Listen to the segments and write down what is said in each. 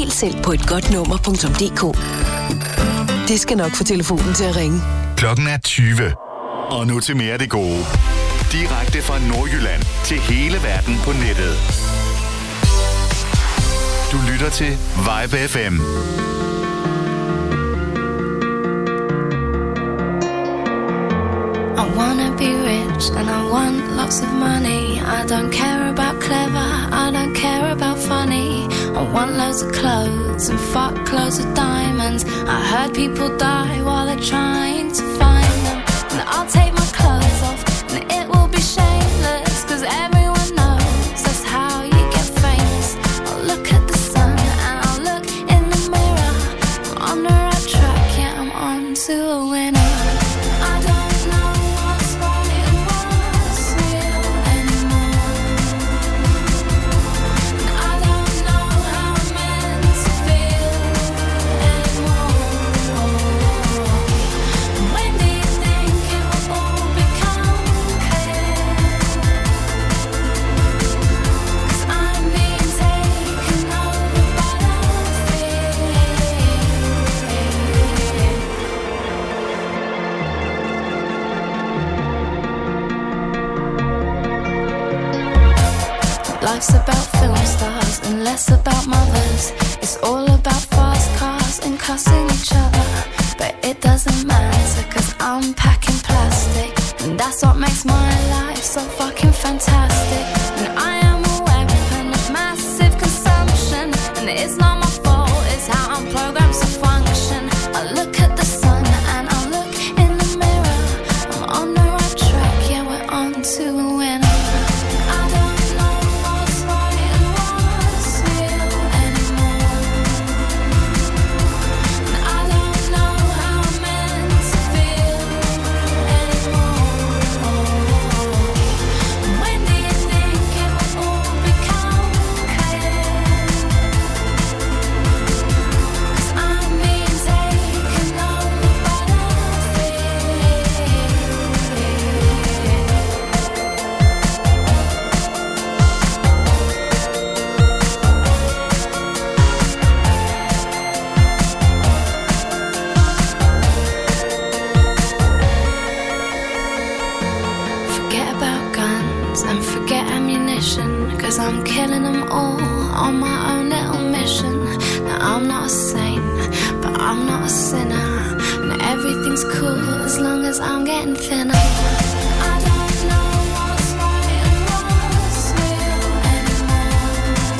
Bestil selv på etgodtnummer.dk. Det skal nok få telefonen til at ringe. Klokken er 20. Og nu til mere af det gode. Direkte fra Nordjylland til hele verden på nettet. Du lytter til Vibe FM. I wanna be rich and I want lots of money. I don't care about clever, I don't care about funny. I want loads of clothes and fuck loads of diamonds. I heard people die while they're trying to find them. And I'll take my clothes off and it will be shameless, cause everyone knows that's how you get famous. I'll look at the sun and I'll look in the mirror. I'm on the right track, yeah, I'm on to a winner. I don't know what's right and what's real anymore. And I don't know how I'm meant to feel anymore. When do you think it will all become clear? 'Cause I'm being taken over by the fear. Life's about film stars and less about mothers. It's all about fast cars and cussing each other. But it doesn't matter, cause I'm packing plastic. And that's what makes my life so fucking fantastic. And I am a weapon of massive consumption. And it's not my fault, it's how I'm programmed to function. I look at the sun and I look in the mirror. I'm on the right track, yeah, we're on to a winner. I don't know what's right and what's real anymore. And I don't know how I'm meant to feel anymore. When do you think it will all become clear? 'Cause I'm being taken over by the Forget about guns and forget ammunition, 'cause I'm killing them all on my own little mission. Now I'm not a saint, but I'm not a sinner. And everything's cool as long as I'm getting thinner. I don't know what's right and what's real anymore.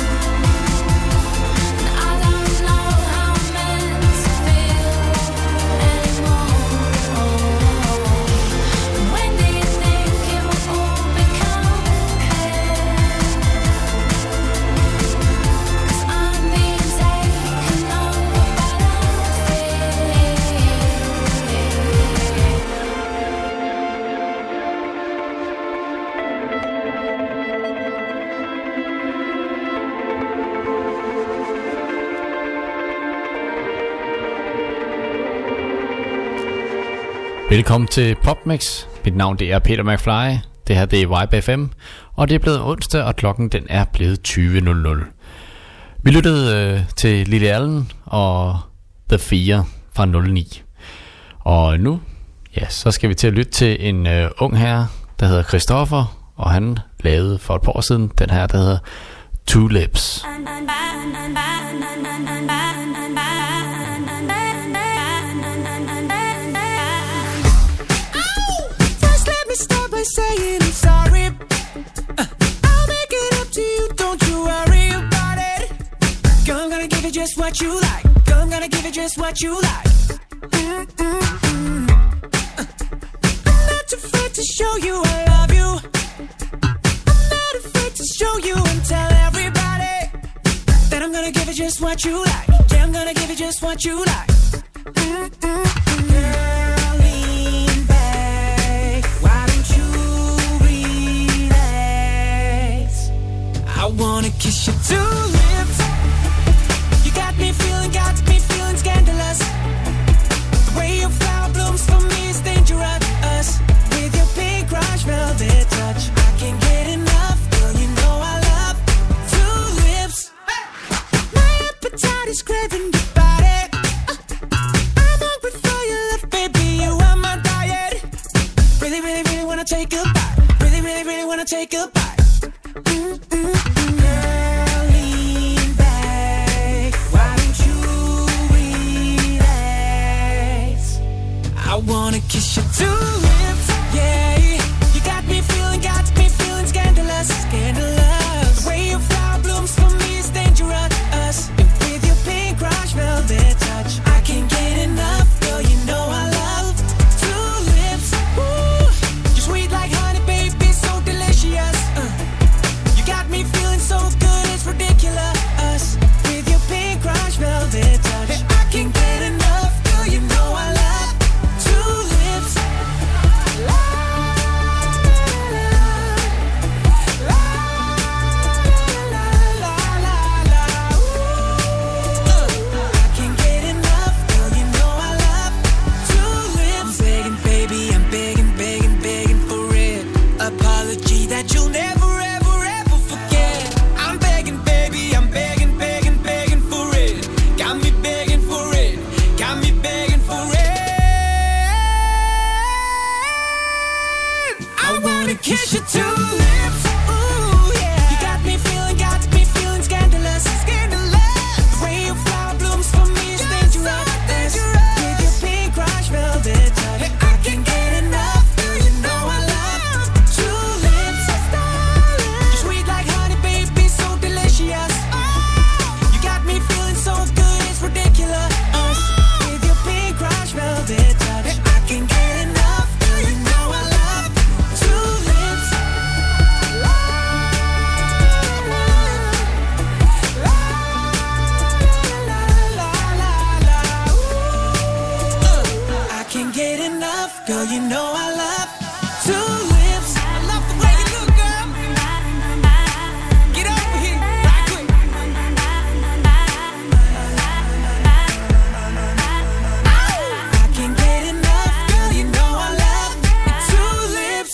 And I don't know how I'm meant to feel anymore. When do you think it will all become clear? 'Cause I'm being taken over by the fear. Velkommen til PopMix. Mit navn det er Peter McFly. Det her det er Vibe FM. Og det er blevet onsdag, og klokken den er blevet 20.00. Vi lyttede til Lily Allen og The Fear fra 09. Og nu, ja, så skal vi til at lytte til en ung herre, der hedder Christoffer. Og han lavede for et par år siden den her, der hedder Two Lips. Saying I'm sorry, I'll make it up to you, don't you worry about it. I'm gonna give it just what you like, I'm gonna give it just what you like. I'm not afraid to show you I love you, I'm not afraid to show you and tell everybody that I'm gonna give it just what you like, yeah, I'm gonna give it just what you like. Girl, lean back, why don't you relax? I wanna kiss your two lips. You got me feeling scandalous. The way your flower blooms for me is dangerous. With your pink rush velvet touch, I can't get enough. Girl, you know I love two lips. My appetite body's craving your body. I'm hungry for your love, baby, you are my diet. Really, really, really wanna take a bite. Really, really, really wanna take a bite. Girl, lean back. Why don't you relax? I wanna kiss your two lips, yeah. You got me feeling scandalous, scandalous. The way your flower blooms for me is dangerous. And with your pink crush velvet touch, I can't get enough, girl, you know I love two lips. Ooh, you're sweet like honey, baby, so delicious. You got me feeling so good, it's ridiculous. With your pink crush velvet touch, I can't get enough, girl, you know I love two lips. La, la, la, la, la, la, la. Ooh, I can't get enough, girl, you know I love two lips. I'm begging, baby, I'm begging, begging, begging for it. Apology that you'll never, ever, ever forget. I'm begging, baby, I'm begging, begging, begging for it. Got me begging for it. Got me begging for it. I wanna kiss your two lips. Ooh, yeah. You got me feeling scandalous, scandalous. The way your flower blooms for me is dangerous. With your pink crush velvet touch, I can't get enough, girl, you know I love two lips. You're sweet like honey, baby, so delicious. You got me feeling so good, it's ridiculous. With your pink crush velvet touch, I can't get enough, girl, you know I love two lips. La, la, la, la, la, la, la. Ooh, I can't get enough, girl, you know I love two lips. I love the way you look, girl. Get over here, right quick. I can't get enough, girl, you know I love two lips.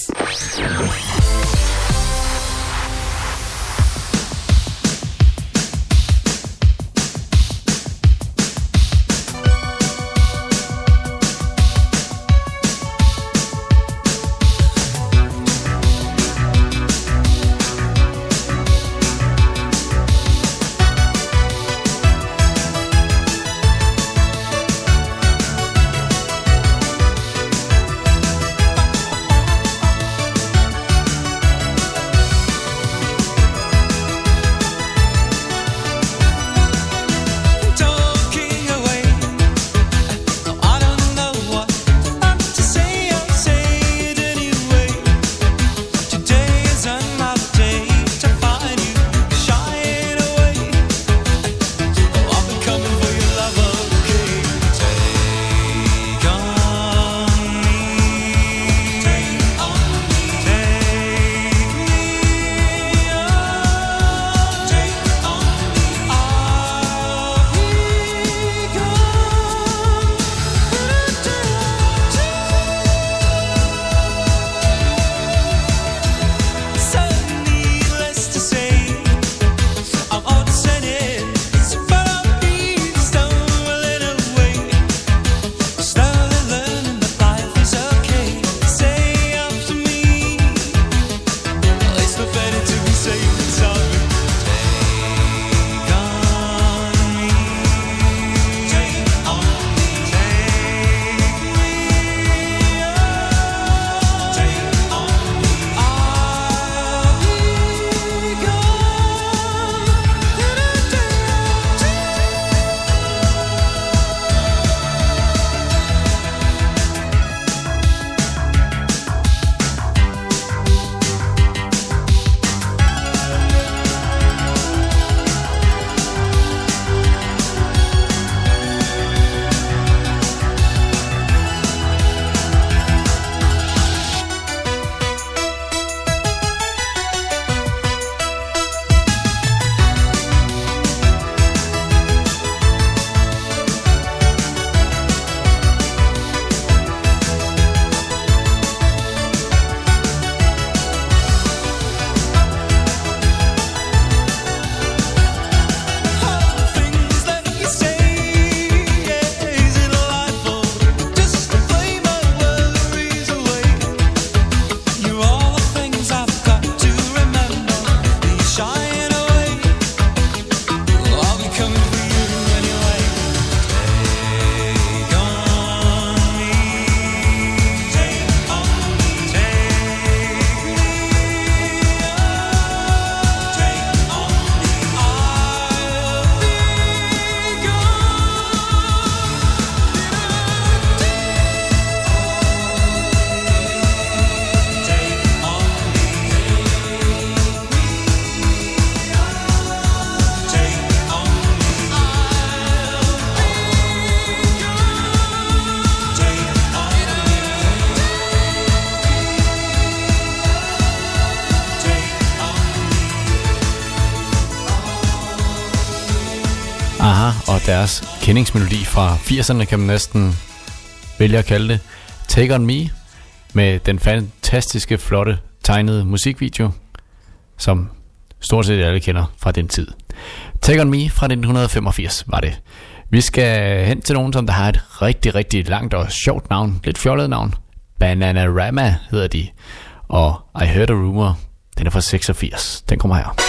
deres kendingsmelodi fra 80'erne, kan man næsten vælge at kalde det. Take On Me, med den fantastiske, flotte, tegnede musikvideo, som stort set alle kender fra den tid. Take On Me fra 1985 var det. Vi skal hen til nogen, som der har et rigtig, rigtig langt og sjovt navn. Lidt fjollet navn. Bananarama hedder de. Og I Heard a Rumor, den er fra 86. Den kommer her.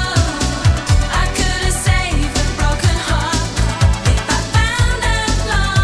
Long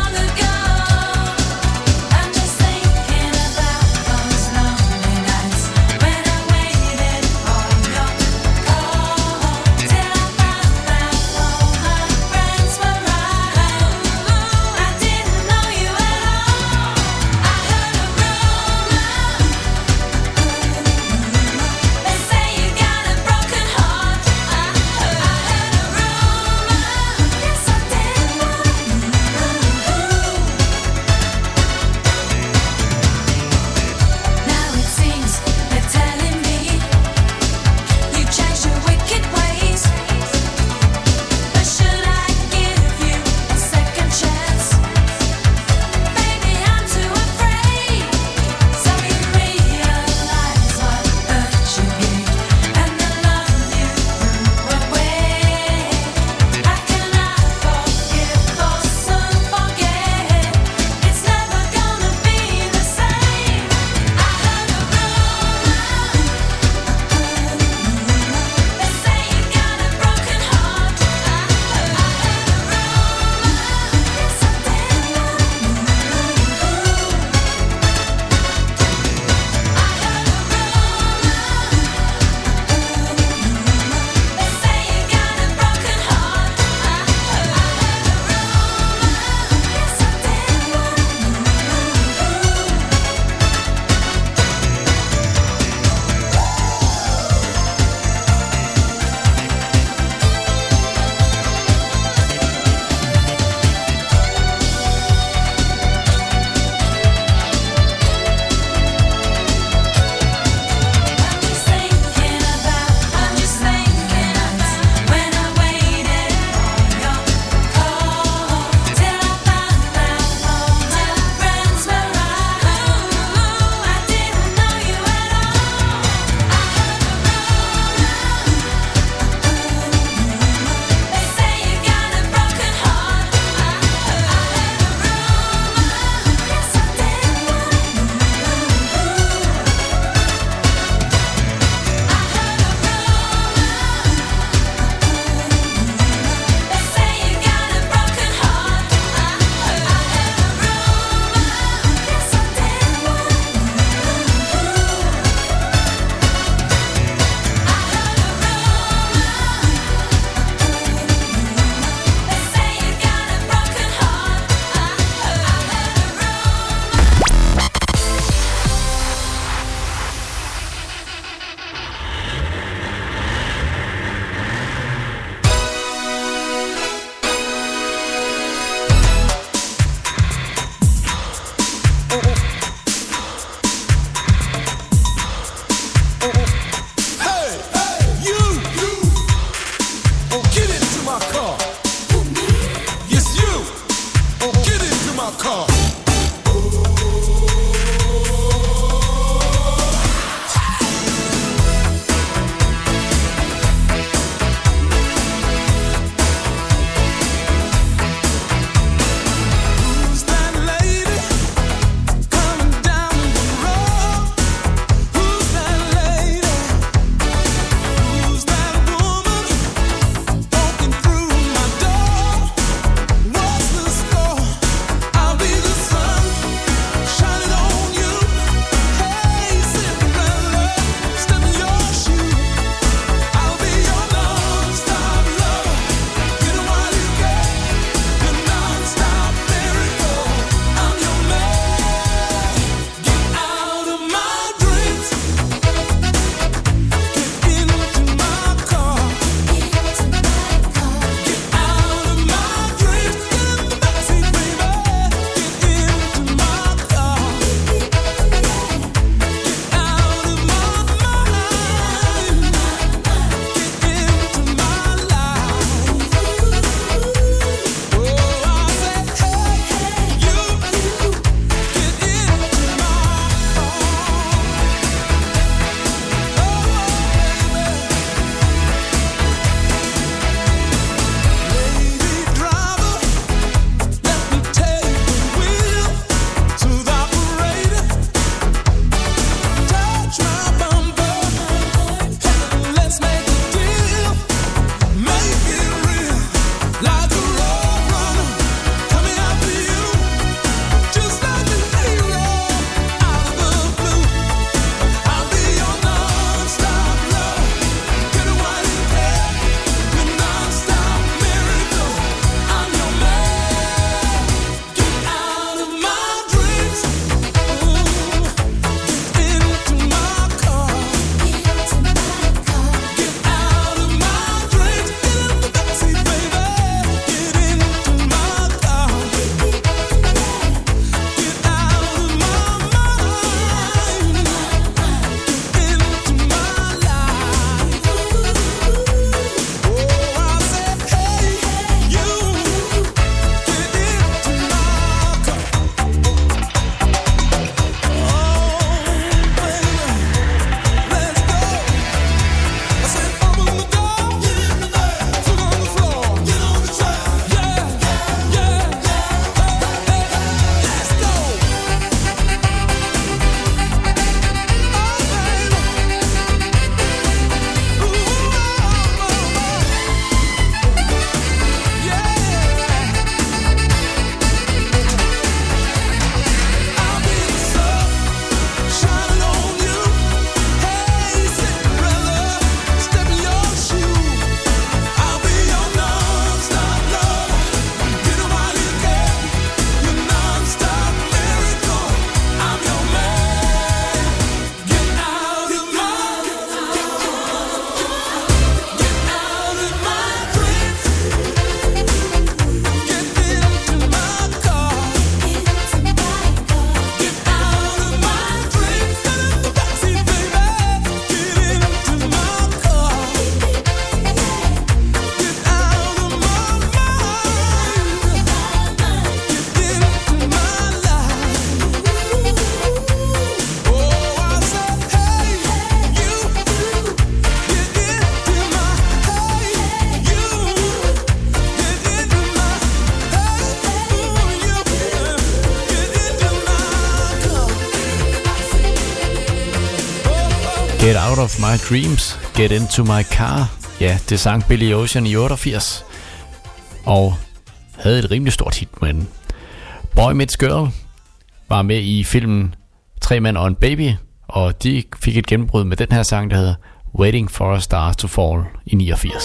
Get Out of My Dreams, Get Into My Car. Ja, det sang Billy Ocean i 88. Og havde et rimelig stort hit med den. Boy Meets Girl var med i filmen 3 Mænd og en Baby. Og de fik et gennembrud med den her sang, der hedder Waiting for a Star to Fall i 89.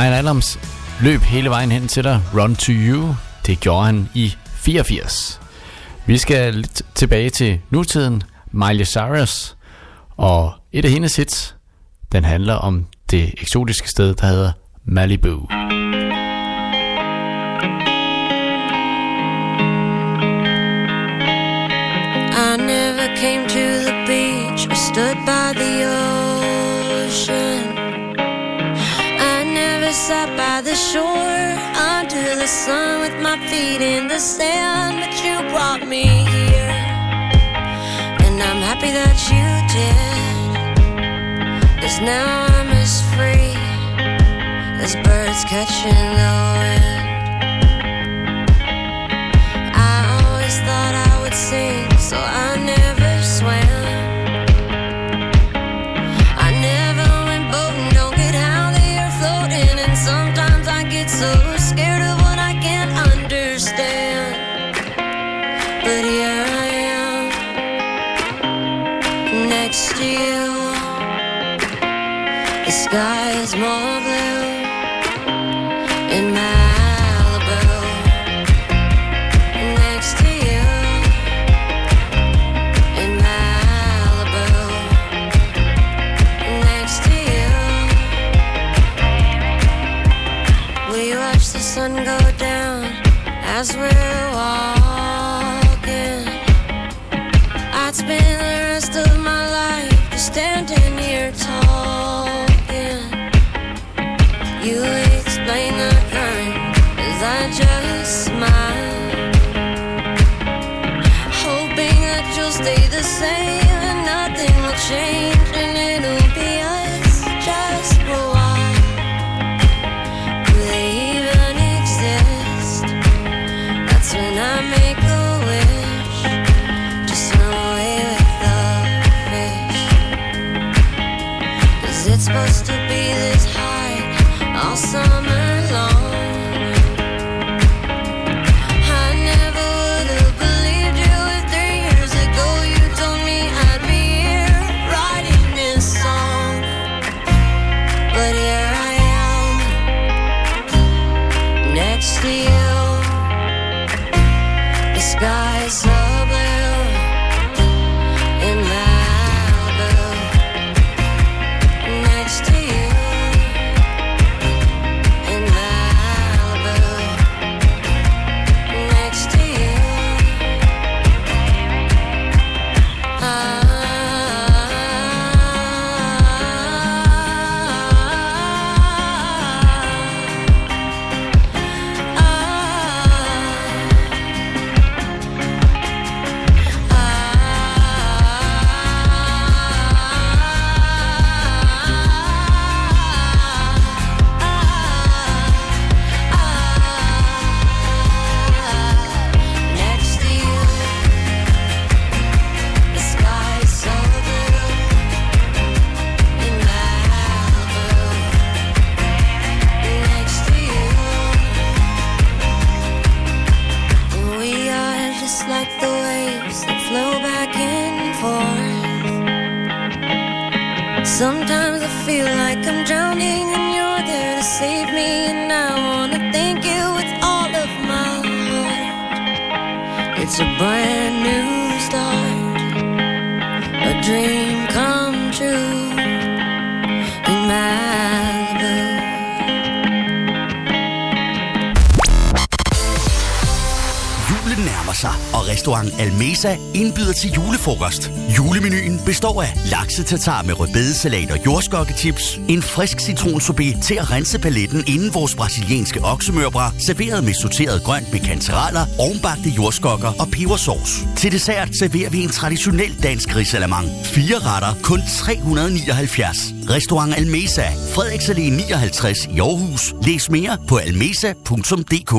Bryan Adams løb hele vejen hen til dig, Run to You. Det gjorde han i 84. Vi skal lidt tilbage til nutiden, Miley Cyrus, og et af hendes hits, den handler om det eksotiske sted, der hedder Malibu. I never came to the beach or stood by the ocean. I never sat by the shore under the sun with my feet in the sand, but you brought me here, and I'm happy that you did, 'cause now I'm as free as birds catching the wind. I always thought I would sing, so I never swam. I never went boating, don't get how they are floating, and sometimes I get so scared of what I can't understand. But here I am, next to you. The sky is more blue in Malibu, next to you. In Malibu, next to you. We watch the sun go down as we're walking. I'd spend the rest of my life just standing here talking. You explain the current as I just smile, hoping that you'll stay the same and nothing will change, and it'll be us just for a while. Do they even exist? That's when I make a wish to swim away with the fish, 'cause it's supposed to be this high all summer long. I never would have believed you if 3 years ago you told me I'd be here writing this song. But here I am, next to you. The sky's so blue in Malibu, next to you. In Malibu, next to you. Next to you. The sky's so blue in Malibu, next to you. We are just like the waves that flow back and forth. Sometimes I feel like I'm drowning and you're there to save me, and I wanna thank you with all of my heart. It's a brand new start, a dream come true in Malibu. Julen nærmer sig, og restaurant Almesa indbyder til julefrokost. Julemenuen består af lakse-tartar med rødbedesalat og jordskokkechips, en frisk citronsorbet til at rense paletten inden vores brasilianske oksemørbrad, serveret med sorteret grønt med kantereller, ovnbagte jordskokker og pebersauce. Til dessert serverer vi en traditionel dansk risalamande. 4 retter, kun 379. Restaurant Almesa, Frederiks Allé 59 i Aarhus. Læs mere på almesa.dk.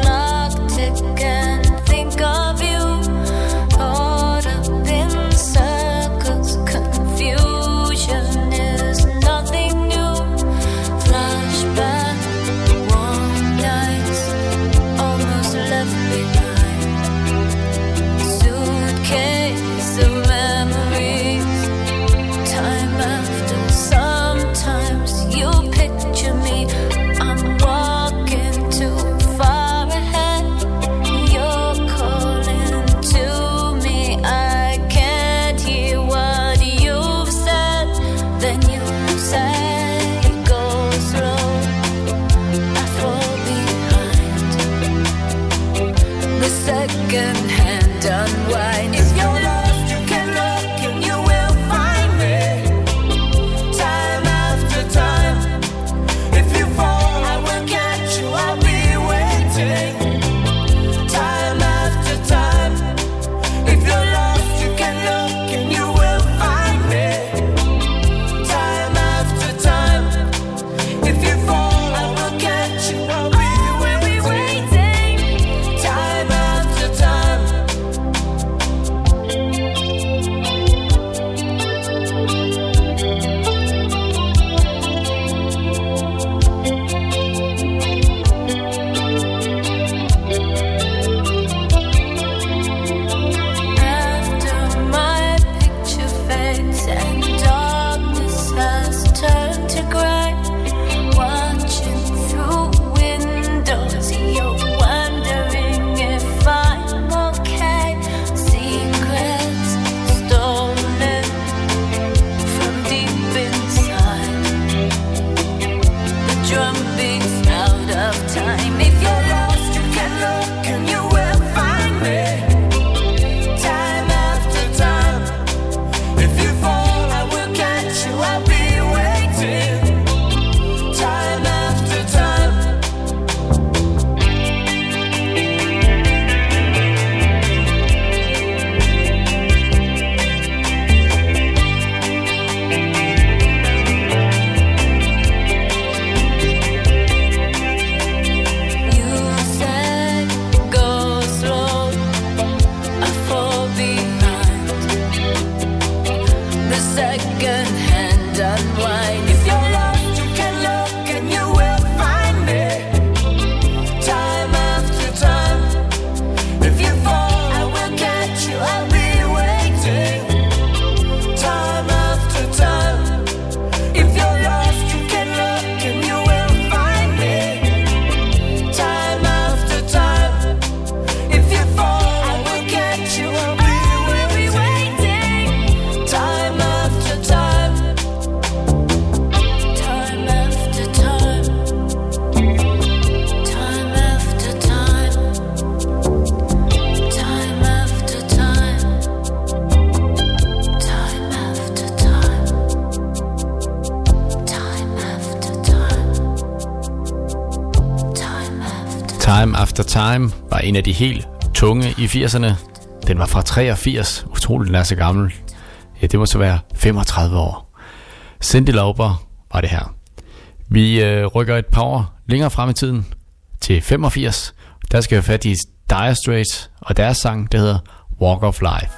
Think of you caught up inside. second-hand unwind. If you're lost, you can look and you will find me. Time after time. If you fall, I will catch you. I'll be waiting. Time after time. If you're lost, you can look and you will find me. Time after time. If you fall, I will catch you. I'll be waiting. Time after time. After my picture fades and darkness has turned to gray, watching through windows, you're wondering if I'm okay. Secrets stolen from deep inside. The drum beats out of time. If you're lost, you can look and you will find me. Time after time. If you fall, I will catch you. I'll be waiting. Time after time. You said go slow, I fall behind. The second-hand unwind. If you're lost, you can look and you will find me. Time after time. If you fall, I will catch you. I'll be waiting. Time after time. If you're lost, you can look and you will find me. Time after time. If you fall, I will catch you. I'll be waiting. Time after time. Time after time. Time after time. Time after time. Time after time. Time after time. Time after Time After Time var en af de helt tunge i 80'erne. Den var fra 83. Utroligt, den er så gammel. Ja, det må så være 35 år. Cyndi Lauper var det her. Vi rykker et par år længere frem i tiden til 85. Der skal vi have fat i Dire Straits og deres sang, der hedder Walk of Life.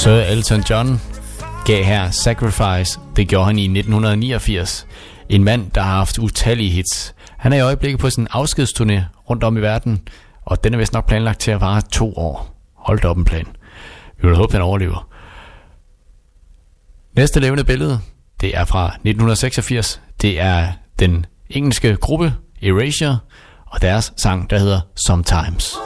Sir Elton John gav her Sacrifice. Det gjorde han i 1989. En mand, der har haft utallige hits. Han er i øjeblikket på sin afskedsturné rundt om i verden, og den er vist nok planlagt til at vare 2 år. Hold da op en plan. Vi vil håbe, den overlever. Næste levende billede, det er fra 1986. Det er den engelske gruppe Erasure og deres sang, der hedder Sometimes.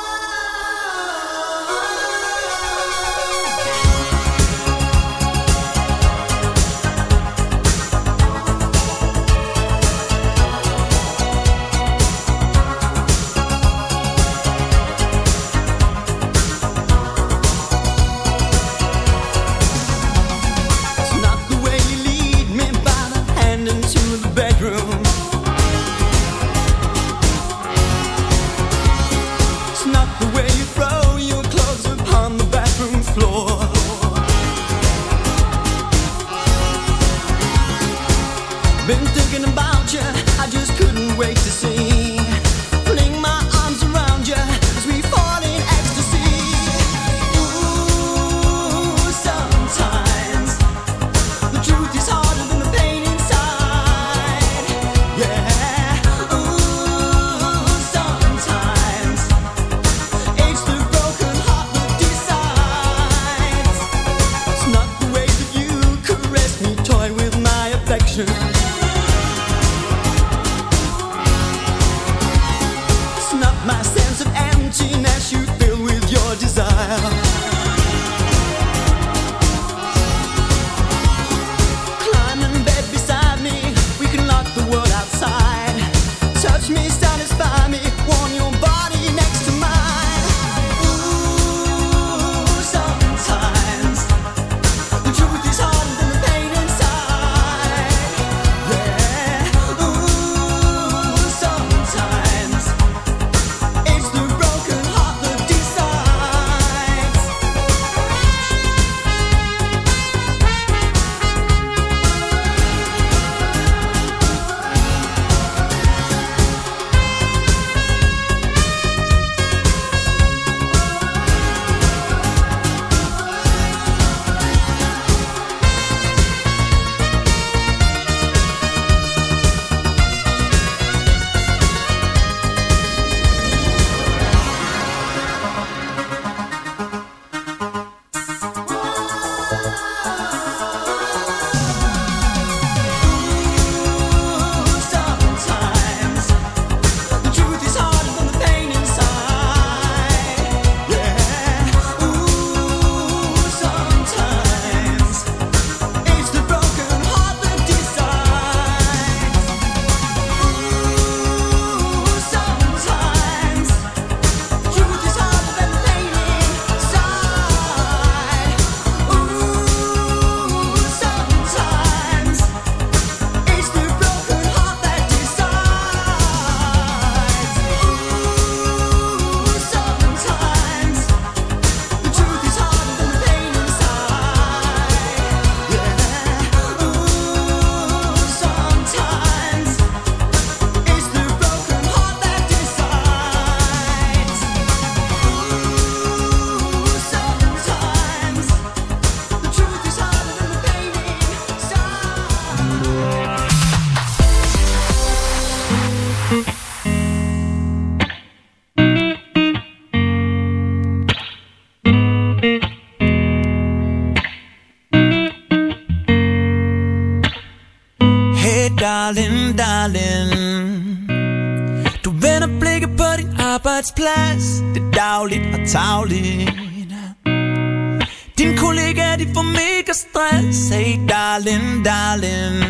Du vender blikket på din arbejdsplads. Det er dagligt og tagligt. Dine kollegaer, de får mega stress. Hey darling, darling,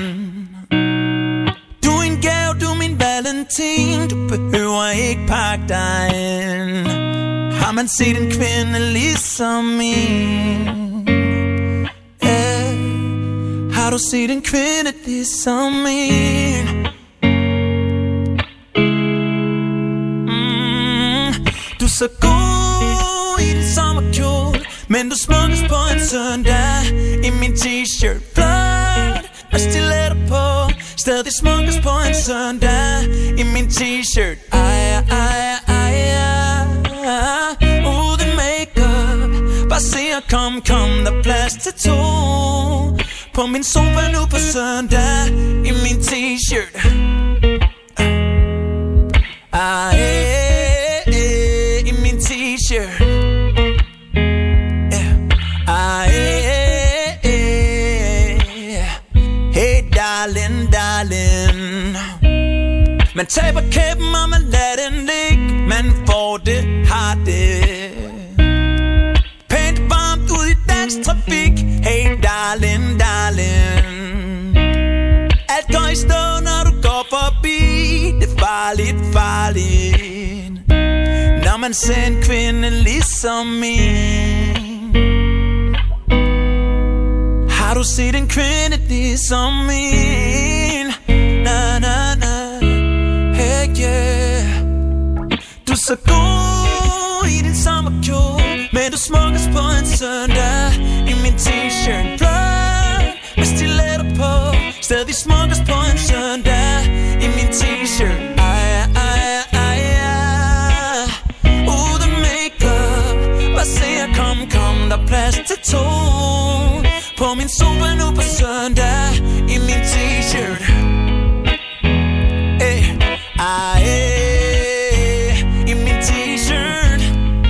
du er en gave, du er min valentin. Du behøver ikke pakke dig ind. Har man set en kvinde ligesom min? Har du set en kvinde ligesom min? Du er så god i din sommerkjole, men du smukkes på en søndag i min t-shirt. Blot og stiletter på, stadig smukkes på en søndag i min t-shirt. Ej, ej, ej, uden makeup, bare se at komme kom, der er plads til to. På min sofa nu på søndag, i min t-shirt. I min t-shirt. Hey darling, darling. Man taber kæben, og man lader den ligge. Man får det, har det pænt varmt ud i dansk trafik. Hey darling, darling. Alt går i stå, når du går forbi. Det er farligt, farligt, når man ser en kvinde ligesom min. Har du set en kvinde ligesom min? Na na na. Hey yeah. Du er så god i din sommerkjole, men du smukkes på en søndag. I min t-shirt blød med stiletter på. Stadig smukkes på en søndag. I min t-shirt. Uden make-up. Bare se at kom, der er plads til to. På min sofa nu på søndag. I min t-shirt. I min t-shirt.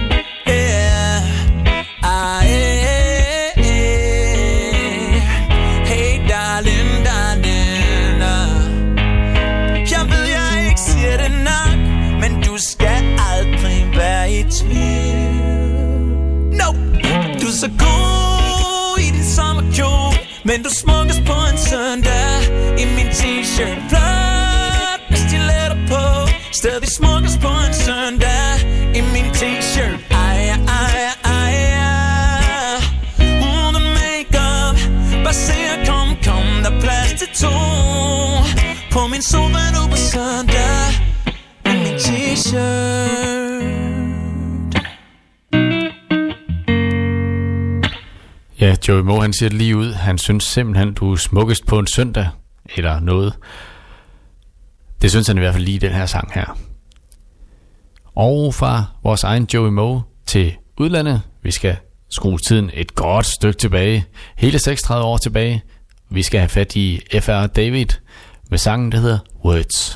Hey darling, darling. Jeg ved jeg ikke siger det nok, men du skal aldrig være i tvivl. No, du er så god i din sommerkjole, men du smukkes på en søndag. I min t-shirt blød med stiletter på. Stadig smukkes på en søndag. I min t-shirt. Uden make-up. Bare se at kom, der er plads til to. På min sofa nu på søndag. I min t-shirt. Ja, Joey Moe, han siger det lige ud. Han synes simpelthen, du er smukkest på en søndag. Eller noget. Det synes han i hvert fald lige i den her sang her. Og fra vores egen Joey Moe til udlandet. Vi skal skrue tiden et godt stykke tilbage. Hele 36 år tilbage. Vi skal have fat i F.R. David med sangen, der hedder Words.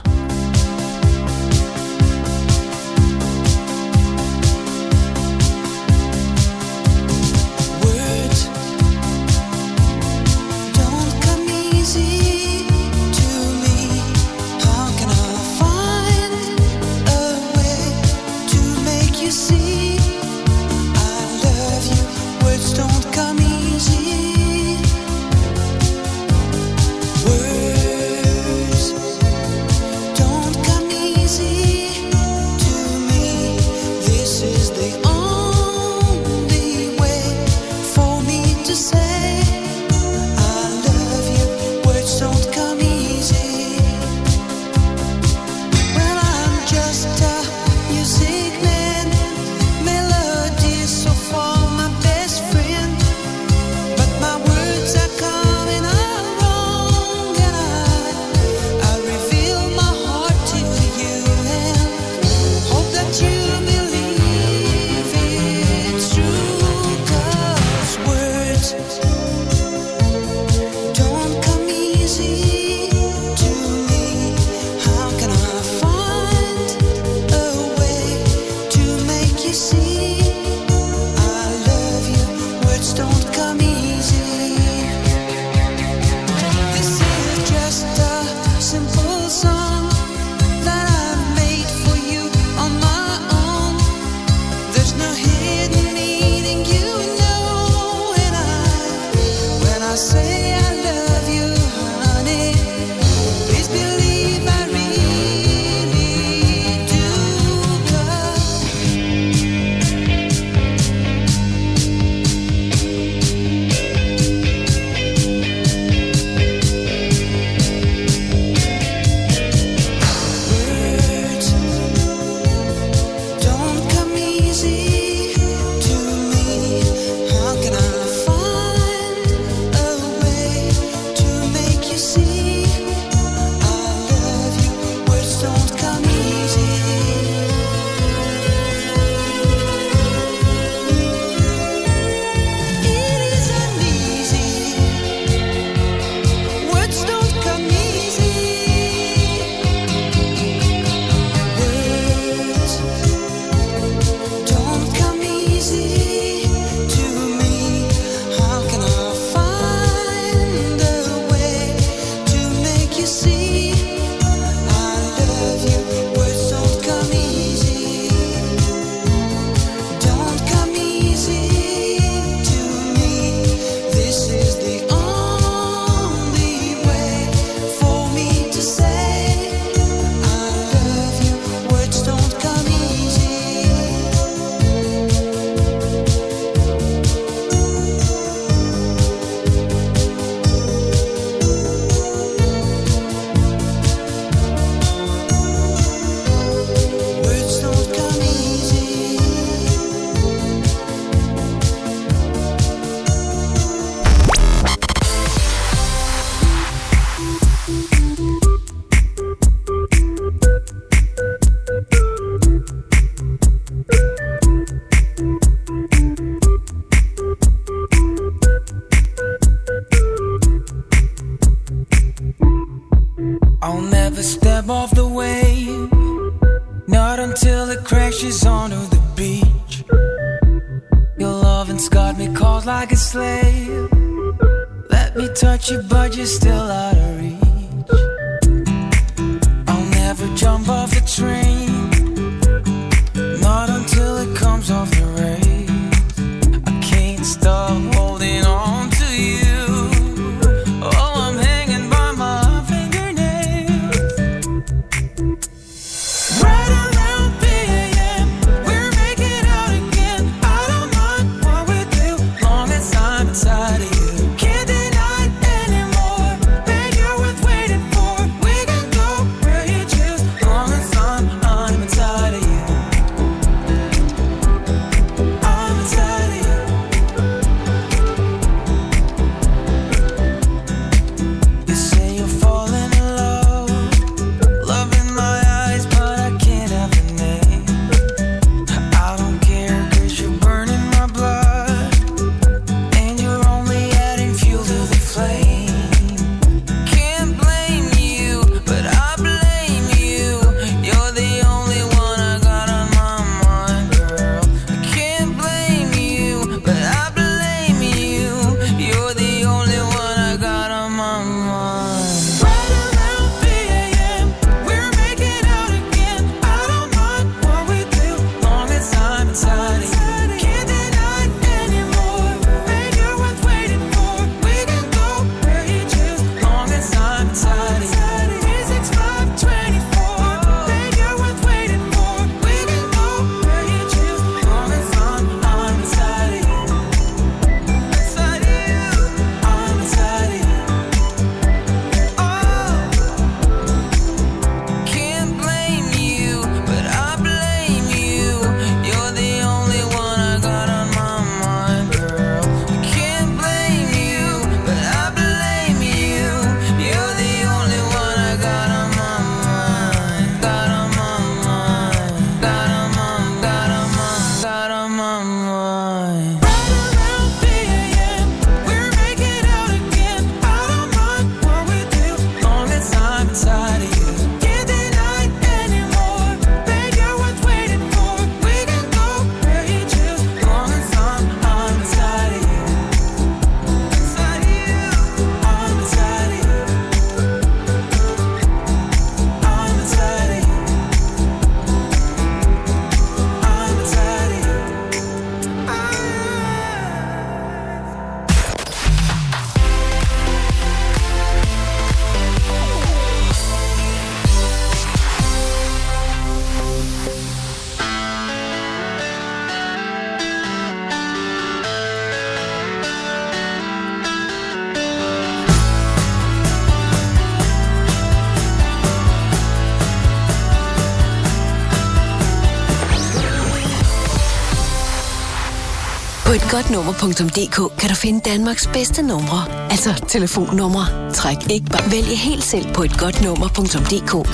På et godnummer.dk kan du finde Danmarks bedste numre, altså telefonnumre. Træk ikke bare. Vælg helt selv på et godnummer.dk.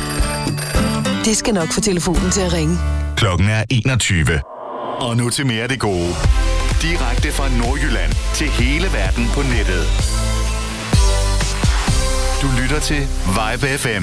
Det skal nok få telefonen til at ringe. Klokken er 21. Og nu til mere af det gode. Direkte fra Nordjylland til hele verden på nettet. Du lytter til Vibe FM.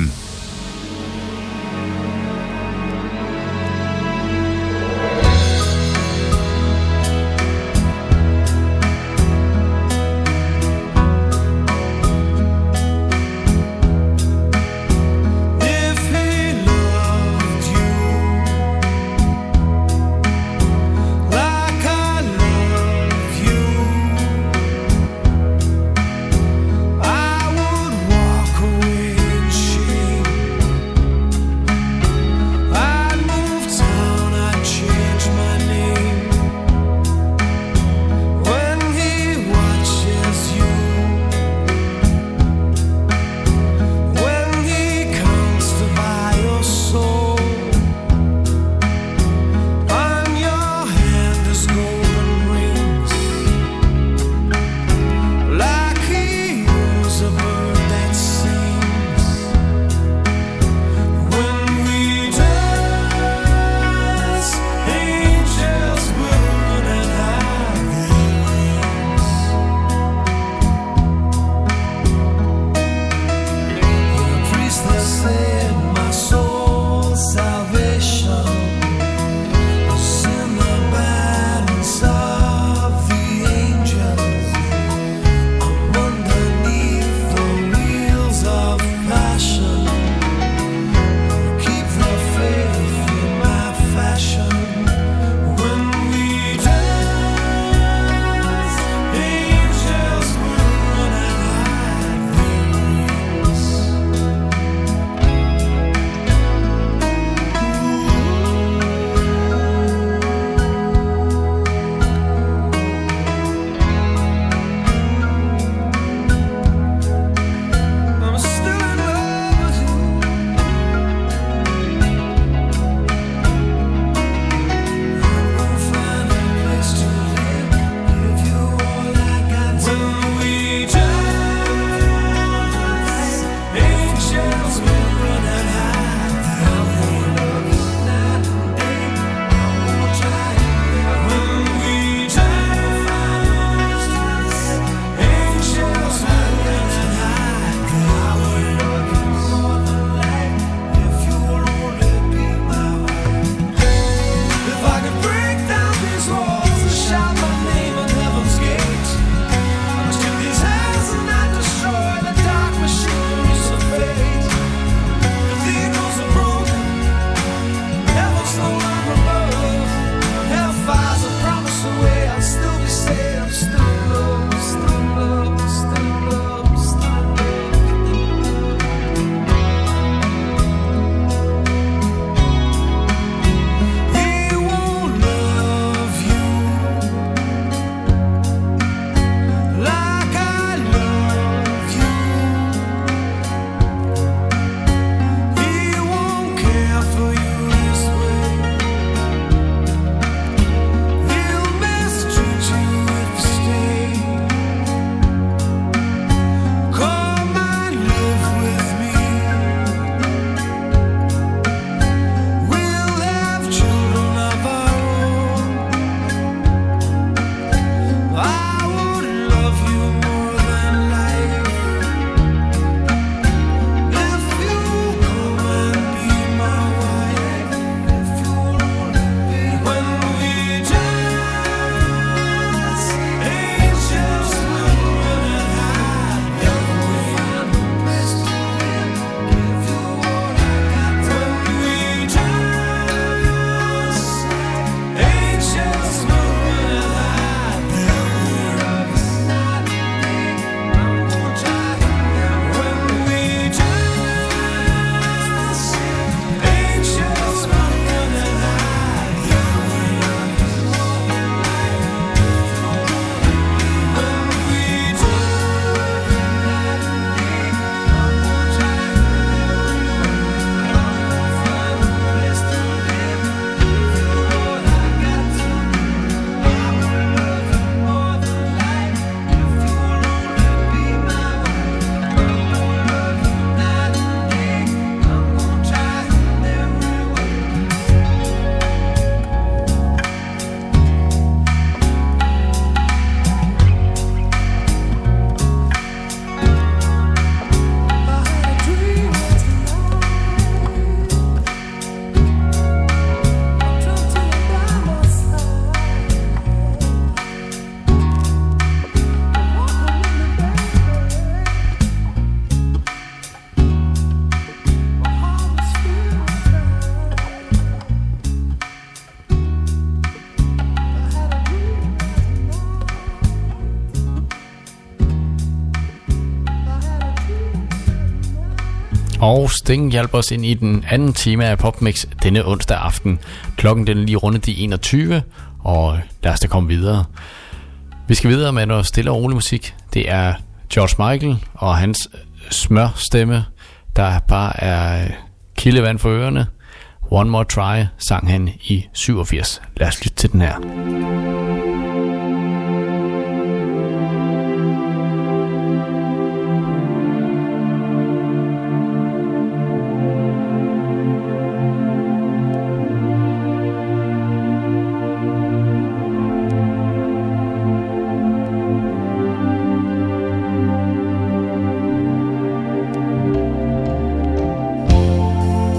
Og Sting hjalp os ind i den anden time af PopMix denne onsdag aften. Klokken den er lige rundet de 21, og lad os da komme videre. Vi skal videre med noget stille og rolig musik. Det er George Michael og hans smørstemme, der bare er kildevand for ørerne. One More Try sang han i 87. Lad os lytte til den her.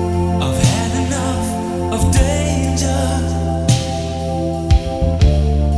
I've had enough of danger.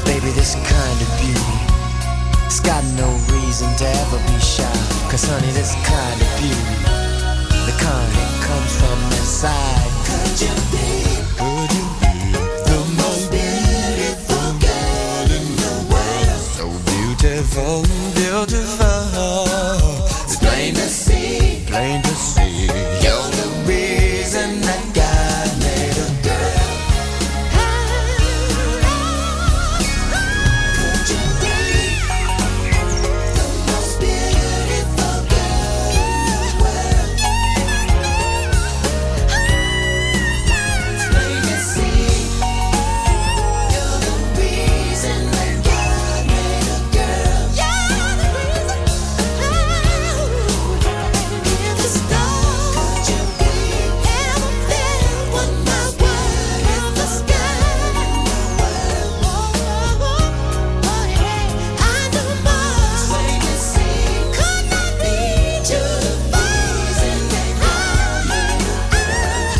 'Cause baby, this kind of beauty, it's got no reason to ever be shy. 'Cause honey, this kind of beauty, the kind that comes from inside. Could you be the most beautiful girl in the world? So beautiful, beautiful. It's plain to see, plain to see. You're the reason that God made a girl. Could you be the most beautiful girl in the world? It's plain to see. You're the reason that God made a girl. You're the reason. The star. Could you be ever felt what my word in the sky? Oh yeah, I know more. Plain to see. Could not need you to reason that God made a girl.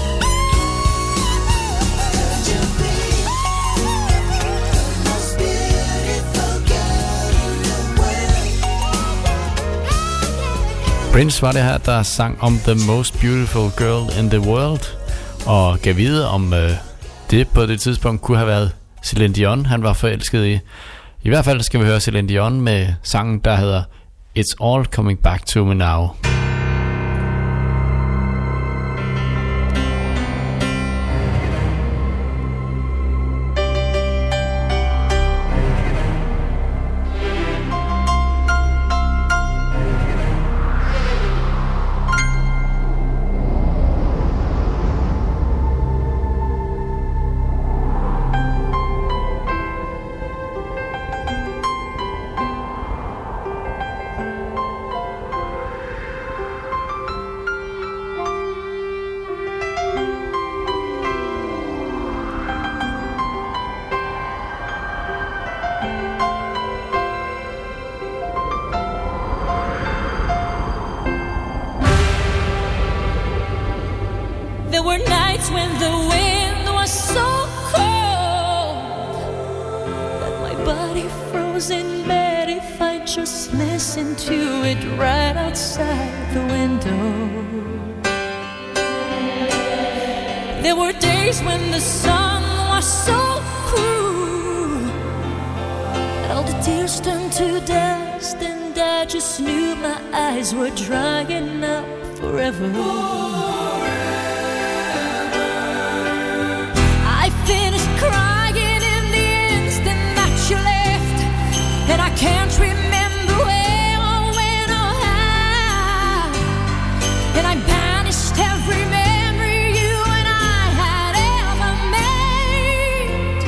Could you be the most beautiful girl in the world? Prince var det her, der sang om The Most Beautiful Girl in the World, og gav videre om det på det tidspunkt kunne have været Celine Dion, han var forelsket i. I hvert fald skal vi høre Celine Dion med sangen, der hedder It's All Coming Back to Me Now. There were nights when the wind was so cold that my body froze in bed if I just listened to it right outside the window. There were days when the sun was so cruel that all the tears turned to dust, and I just knew my eyes were drying up forever. I finished crying in the instant that you left, and I can't remember where or when or how, and I banished every memory you and I had ever made.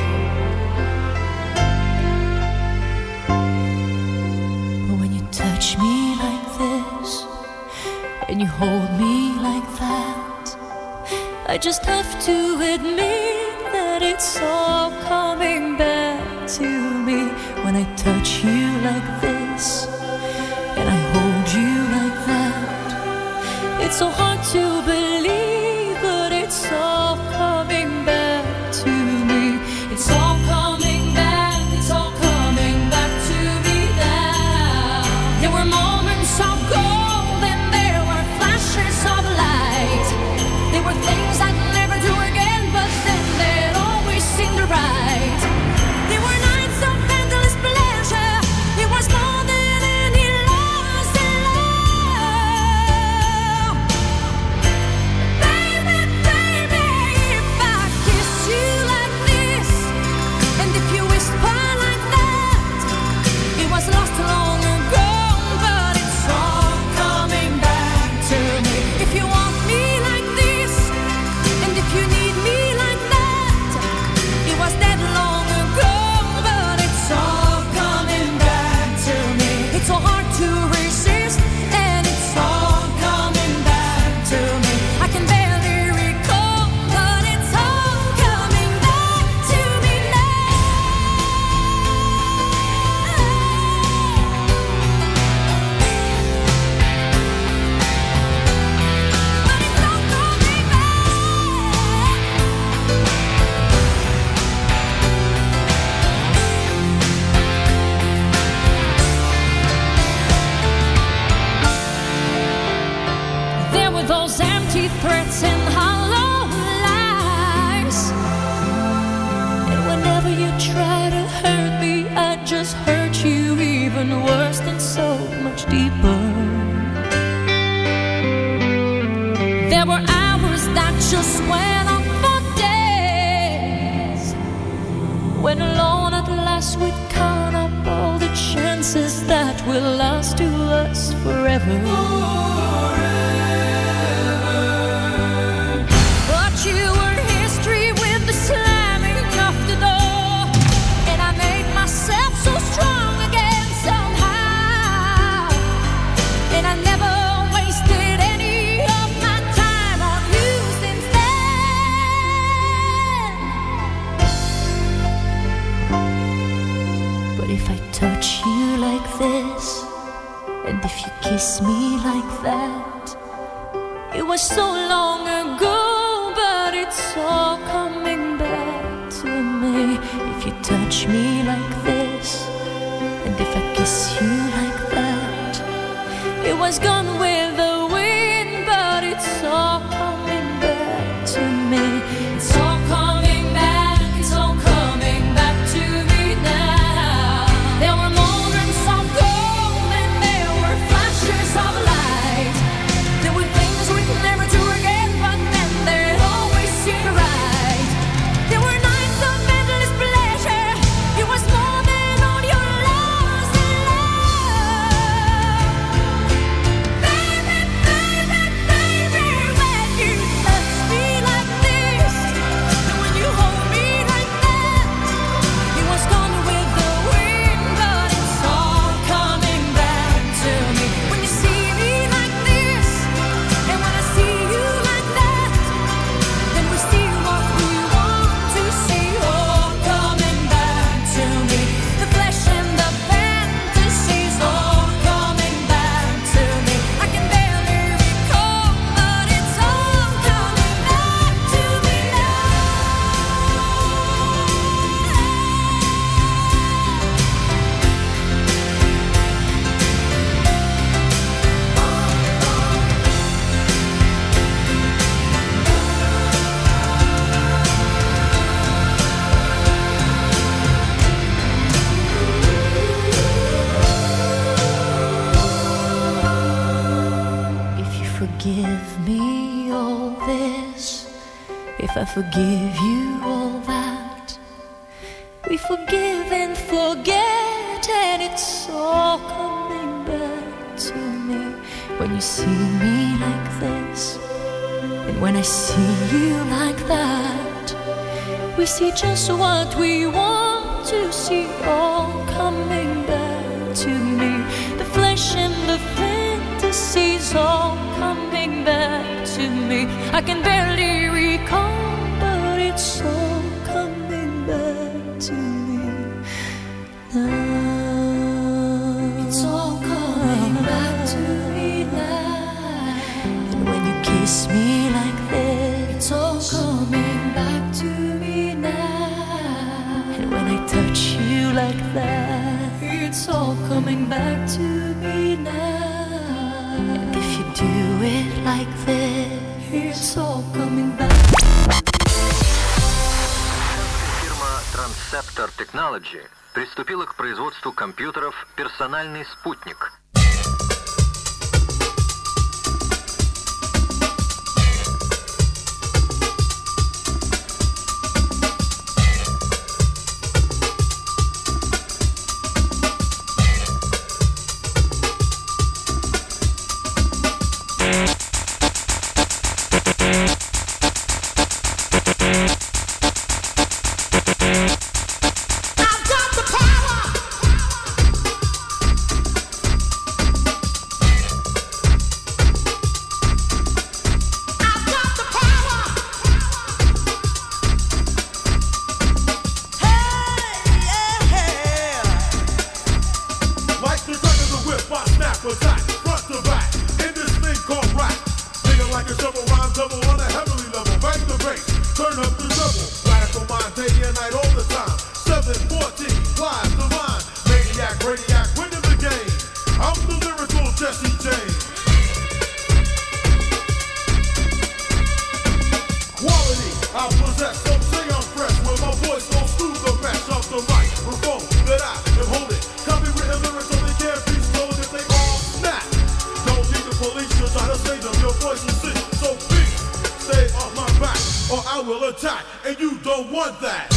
But when you touch me like this and you hold me like that, I just have to admit that it's all coming back to me. When I touch you like this and I hold you like that, it's so hard to believe, but it's all coming back to me. It's all coming back, it's all coming back to me now. There were moments of gold and there were flashes of light. There were things I'd never do again, but then they'd always seem right. There were nights of endless pleasure. It was more than any loss in love. threats and hollow lies. And whenever you try to hurt me, I just hurt you even worse and so much deeper. There were hours that just went on for days, when alone at last we'd count up all the chances that will last to us forever. But you were history with the slamming of the door, and I made myself so strong again somehow. And I never wasted any of my time on you since then. But if I touch you like this, and if you kiss me like that, it was so long ago, but it's all coming back to me. If you touch me like this, and if I kiss you like that, it was gone with the wind, but it's all coming back to me. It's all coming back, it's all coming back to me now. There were moments of gold and there were flashes of light. There were things we'd never do again, but then they'd always seem right. There were nights of endless pleasure. It was more than all your loves and love. Baby, baby, baby, when you touch me like this, and when you hold me like that, it was gone with the wind, but it's all coming back to me. When you see me like this, and when I see you like that, then we see what we want to see, all coming back to me. The flesh and the fantasies, all coming back to me. I can barely recall, but it's all coming back to me now. If you forgive me all this, if I forgive you all that, we forgive and forget, and it's all coming back to me. When you see me like this, and when I see you like that, we see just what we want to see, all coming back to me. The flesh and the fantasies, all coming back to me. I can barely recall, but it's all coming back to me now. It's all coming back to me now. And when you kiss me like this, it's all coming back to me now. And when I touch you like that, it's all coming back to me now. And if you do it like this, it's all coming back. Фирма Transceptor Technology приступила к производству компьютеров «Персональный спутник». I've got the power. that.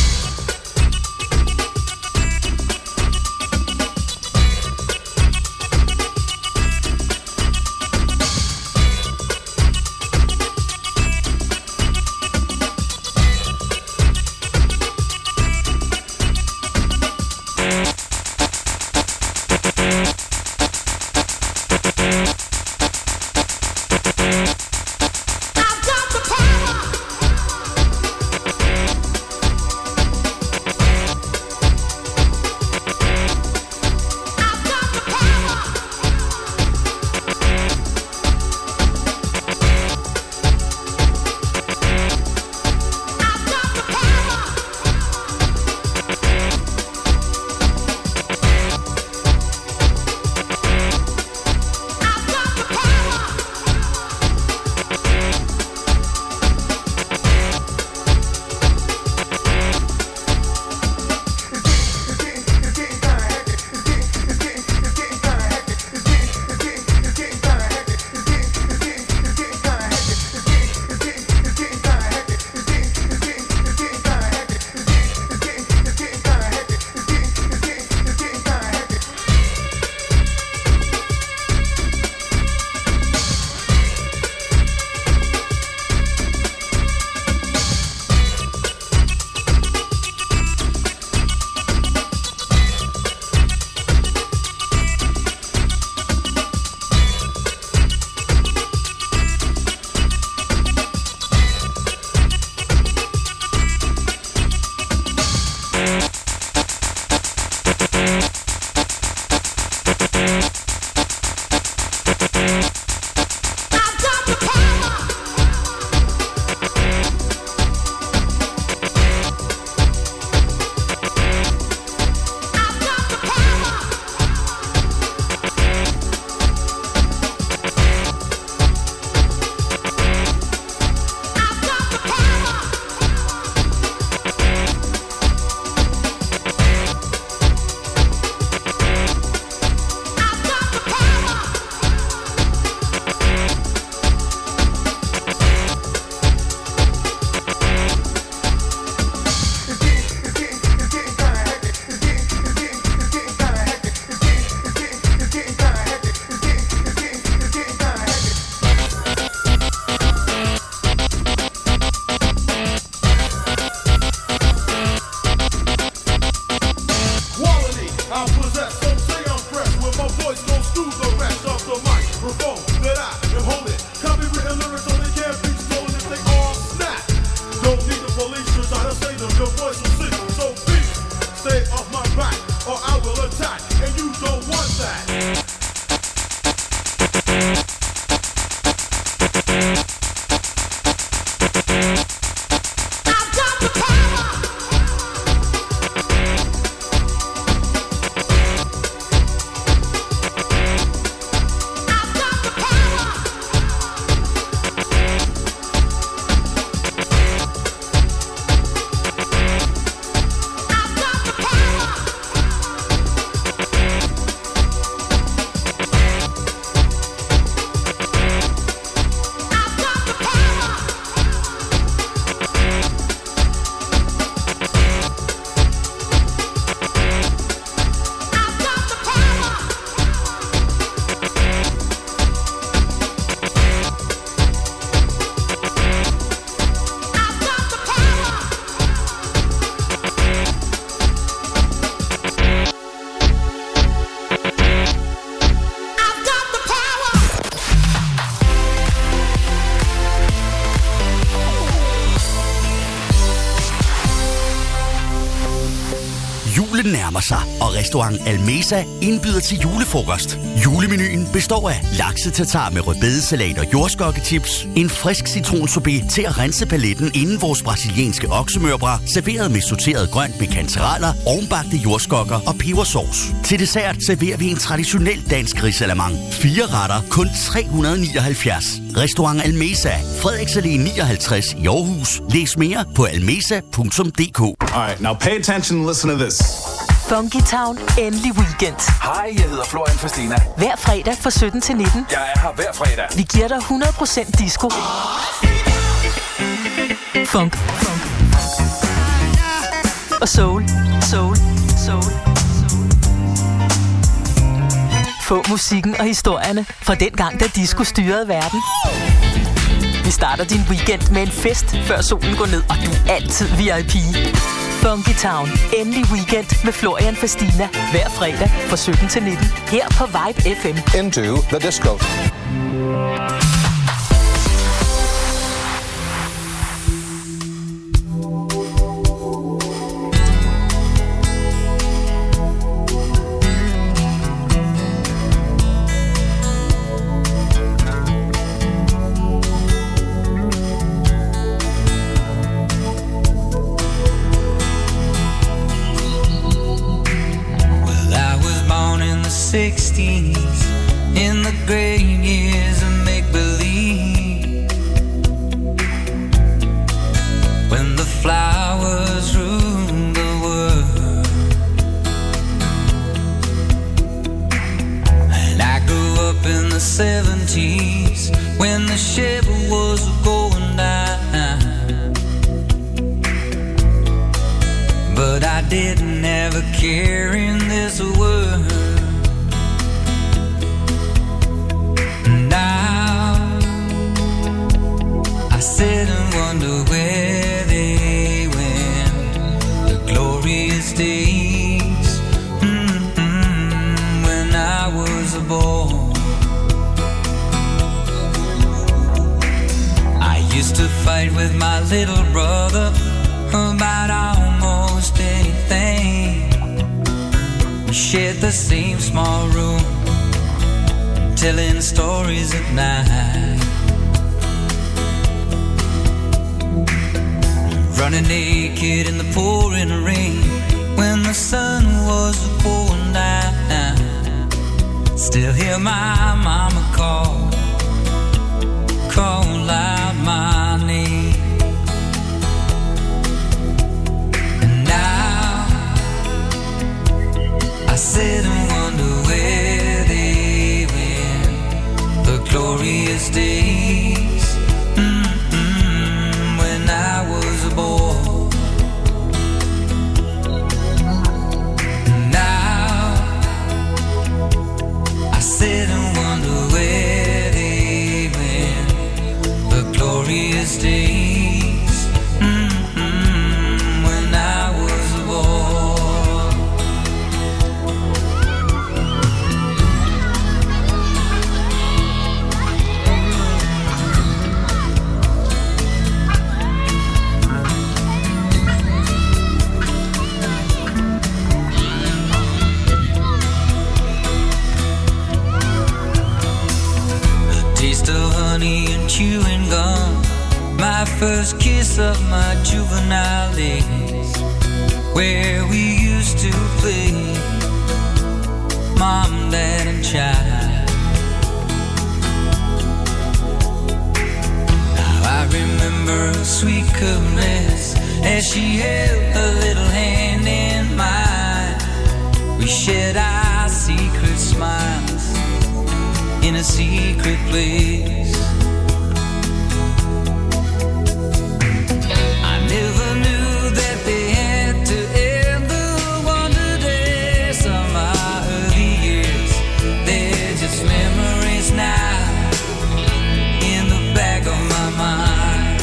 Julen nærmer sig, og restaurant Almesa indbyder til julefrokost. Julemenuen består af lakse-tartar med rødbedesalat og jordskokkechips, en frisk citronsorbet til at rense paletten inden vores brasilianske oksemørbrad, serveret med sorteret grønt med kantereller, ovenbagte jordskokker og pebersauce. Til dessert serverer vi en traditionel dansk risalamande. 4 retter, kun 379. Restaurant Almesa, Frederiks Allé 59 i Aarhus. Læs mere på almesa.dk. Alright, now pay attention and listen to this. Funky Town, endelig weekend. Hej, jeg hedder Florian Fastina. Hver fredag fra 17 til 19. Jeg er her hver fredag. Vi giver dig 100% disco. Funk. og soul. Få musikken og historierne fra den gang, da disco styrede verden. Vi starter din weekend med en fest, før solen går ned, og du er altid VIP. Funky Town. Endelig weekend med Florian Fastina. Hver fredag fra 17 til 19. Her på Vibe FM. Into the disco. In the great years of make-believe, when the flowers ruled the world, and I grew up in the 70s when the ship was going down, but I didn't ever care in this world. Sit and wonder where they went, the glorious days, when I was a boy. I used to fight with my little brother about almost anything. We shared the same small room, telling stories at night. Running naked in the pouring rain when the sun was going down. Still hear my mama call out my name. And now I sit and wonder where they went, the glorious days, when I was a boy. Now I sit and wonder where they went, the glorious days, when I was a boy. And chewing gum, my first kiss of my juvenile days, where we used to play mom, dad and child. Now I remember a sweet caress as she held her little hand in mine. We shared our secret smiles in a secret place. I never knew that they had to end the wonder days of my early years. They're just memories now in the back of my mind.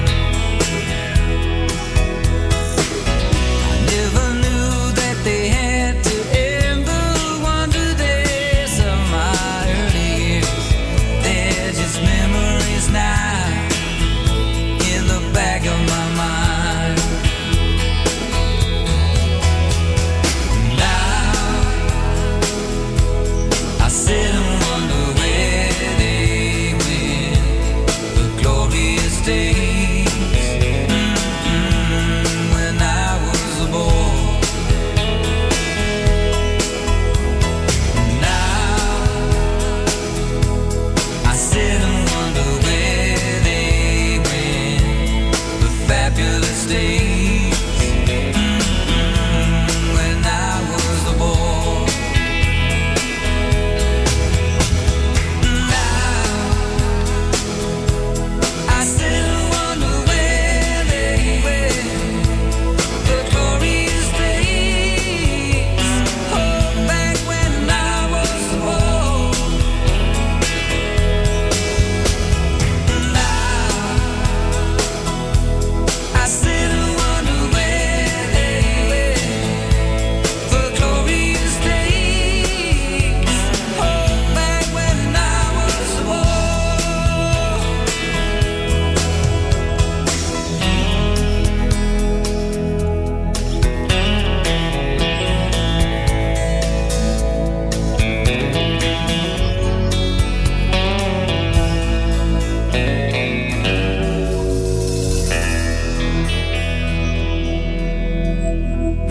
I never knew that they had to end the wonder days of my early years. They're just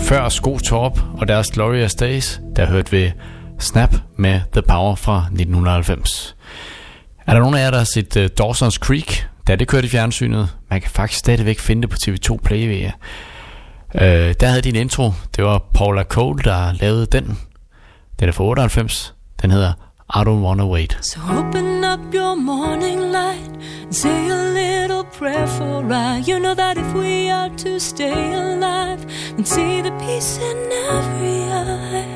Før Skotorp og deres Glorious Days, der hørte vi Snap med The Power fra 1990. Er der nogen af jer, der har set Dawson's Creek, da det kørte i fjernsynet? Man kan faktisk stadigvæk finde det på TV2 Play. Der havde de en intro. Det var Paula Cole, der lavede den. Den er fra 98. Den hedder I Don't Wanna Wait. So open up your morning light and say a little prayer for I. You know that if we are to stay alive and see the peace in every eye.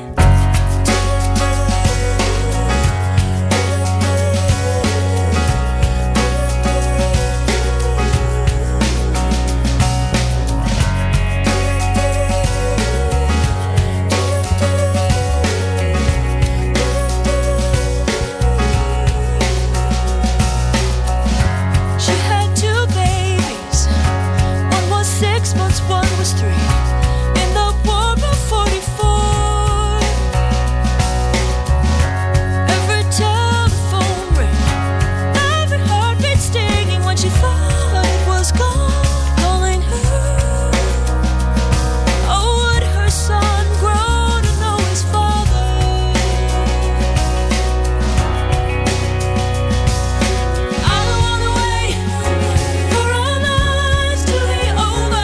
One was 3 in the war of 44. Every telephone ring, every heartbeat stinging when she thought it was God calling her. Oh, would her son grow to know his father? I don't wanna wait for our lives to be over.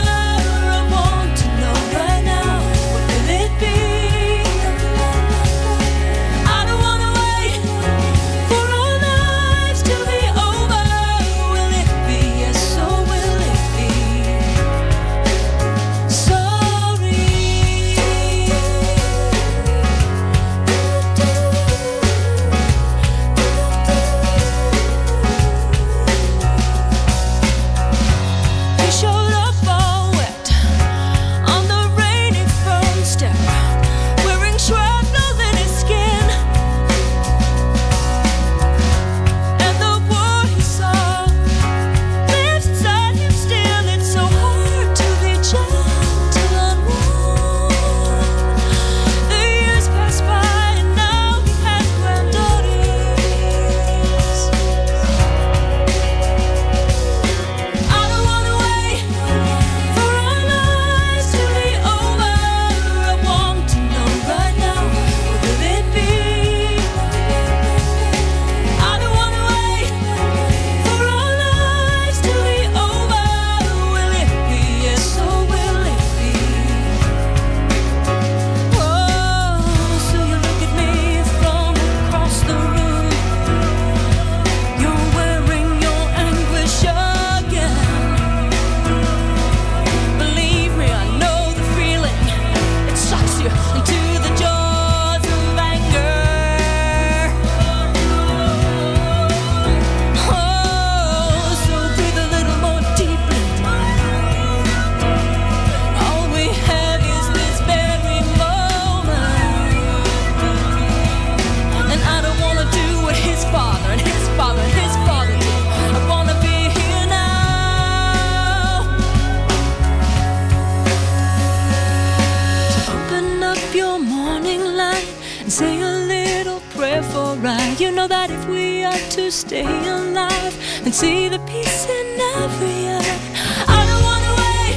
Stay alive and see the peace in every eye. I don't wanna wait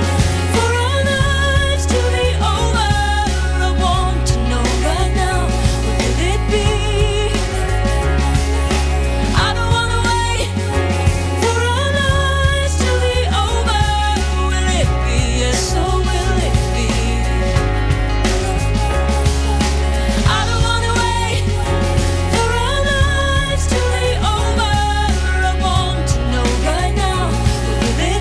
for our lives to be over. I want to know right now, what will it be? I don't wanna wait for our lives to be over. Will it be? Yes, so will it be? I don't wanna wait for our lives to be over. I want to know right now, will it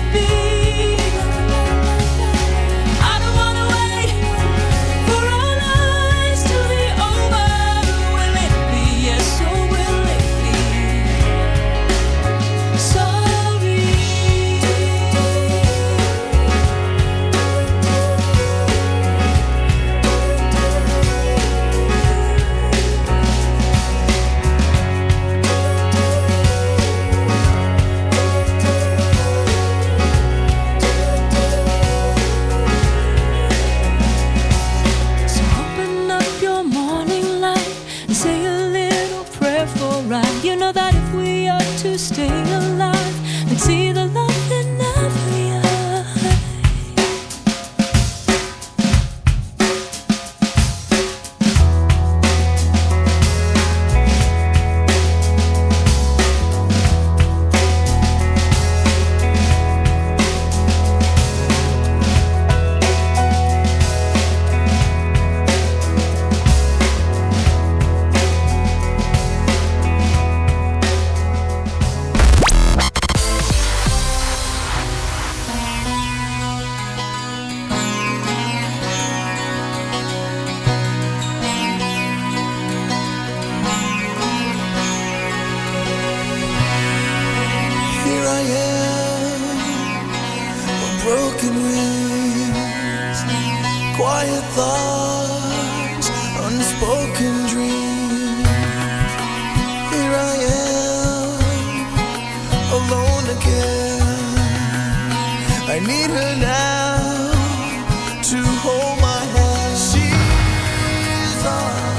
quiet thoughts, unspoken dreams. Here I am, alone again. I need her now to hold my hand. She's all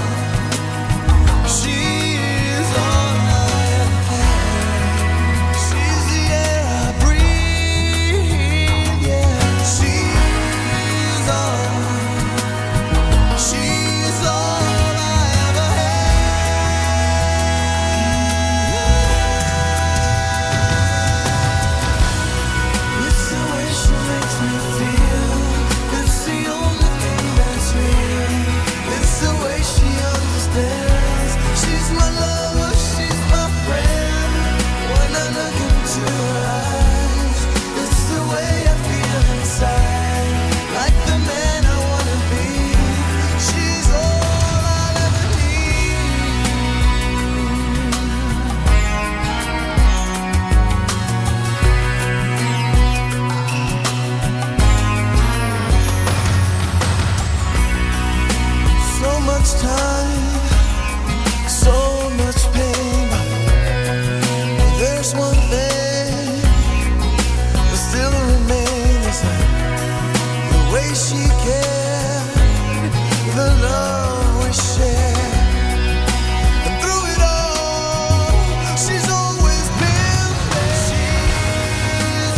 I have. She's the air I breathe, yeah. She's all I ever had. It's the way she makes me feel. It's the only thing that's real. It's the way she understands. She's my lover, she's my friend. When I look into her eyes, it's the way I feel inside. Like the man I wanna be. She's all I'll ever need. So much time, so much pain. There's one thing that still remains, the way she cared, the love we shared. And through it all, she's always been there. She's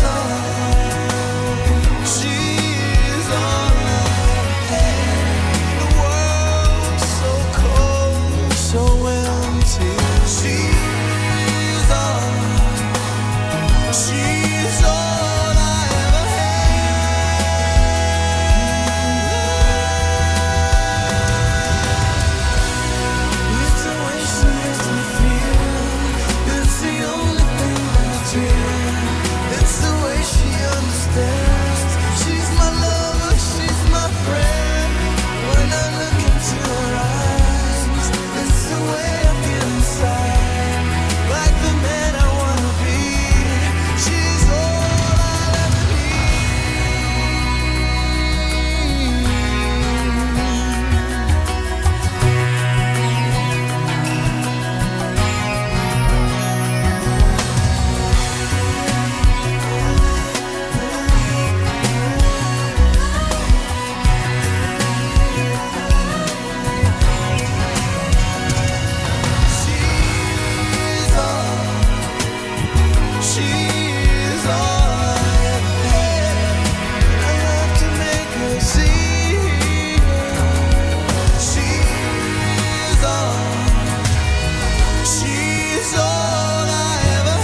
all I had. The world's so cold, so empty. She's all I ever had. It's the way she makes me feel. It's the only thing that's real. It's the way she understands. She's my lover, she's my friend. When I look into her eyes, it's the way I feel inside. Like the man I wanna be. She's all I'll ever She's all I ever had. I have to make her see. She's all I ever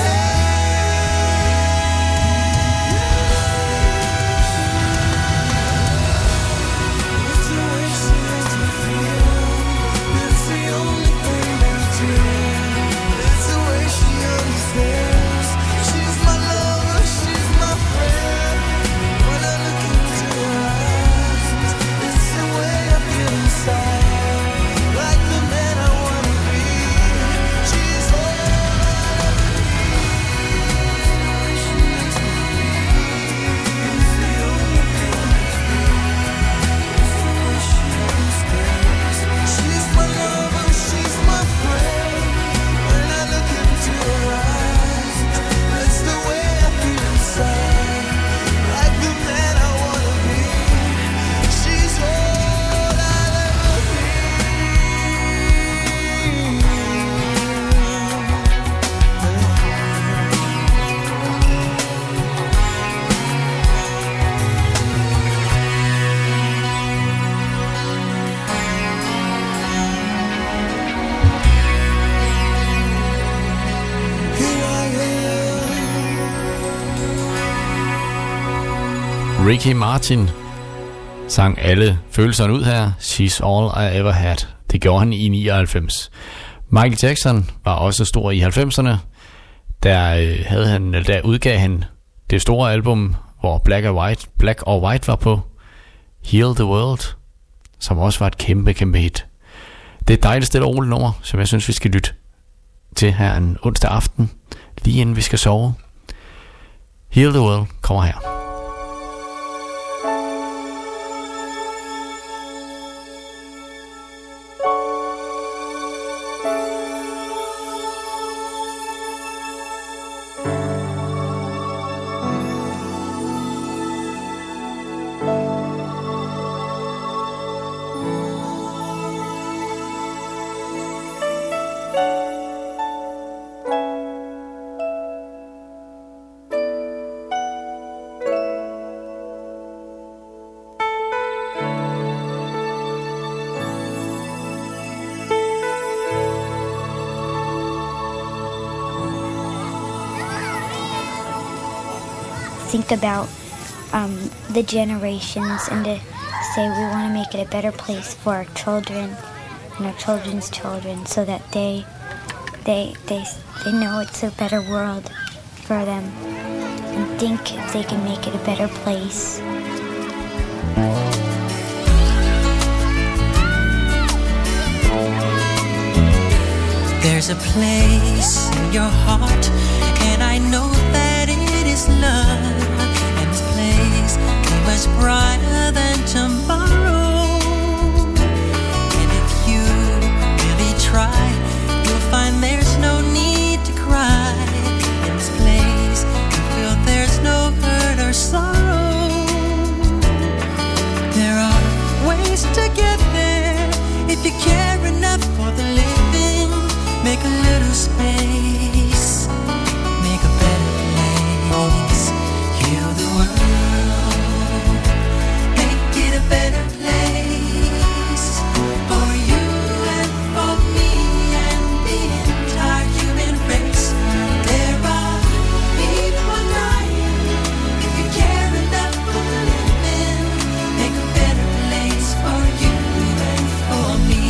had. It's the way she makes me feel. It's the only thing that's real. It's the way she understands. She's my lover, she's my friend. When I look into her eyes, it's the way I feel inside. Like the man I wanna be. She's all I ever need. She makes me feel. It's the only thing that's real. It's the way she understands. She's my lover, she's my friend. When I look into her eyes, it's the way I feel inside. Like the man I wanna be. She's all I'll ever Ricky Martin sang alle følelserne ud her. She's all I ever had. Det gjorde han i 99. Michael Jackson var også stor i 90'erne. Der udgav han det store album, hvor Black or White var på. Heal the World, som også var et kæmpe hit. Det er et dejligt stille og roligt nummer, som jeg synes vi skal lytte til her en onsdag aften, lige inden vi skal sove. Heal the World kommer her. think about the generations and to say we want to make it a better place for our children and our children's children, so that they know it's a better world for them, and think if they can make it a better place. There's a place in your heart, and I know that it is love. And this place is much brighter than tomorrow. And if you really try, you'll find there's no need to cry. In this place, you feel there's no hurt or sorrow. There are ways to get there if you care enough for the living. Make a little space, make a better place, heal the world, make it a better place, for you and for me and the entire human race. There are people dying, if you care enough for the living, make a better place for you and for me.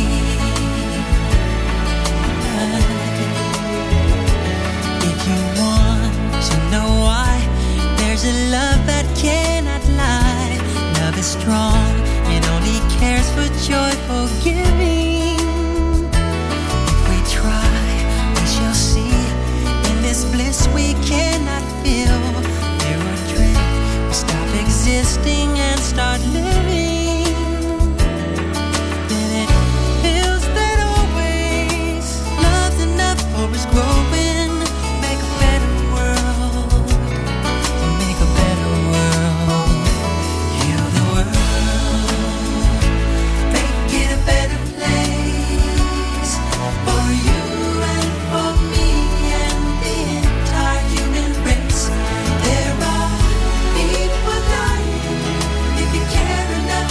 If you want to know why, there's a love that cannot lie. Love is strong, it only cares for joyful giving. If we try, we shall see. In this bliss we cannot feel. There are dread, we stop existing and start living. Then it feels that always love's enough for us growing. Make a better world, make a better world, heal the world, make it a better place, for you and for me and the entire human race. There are people dying, if you care enough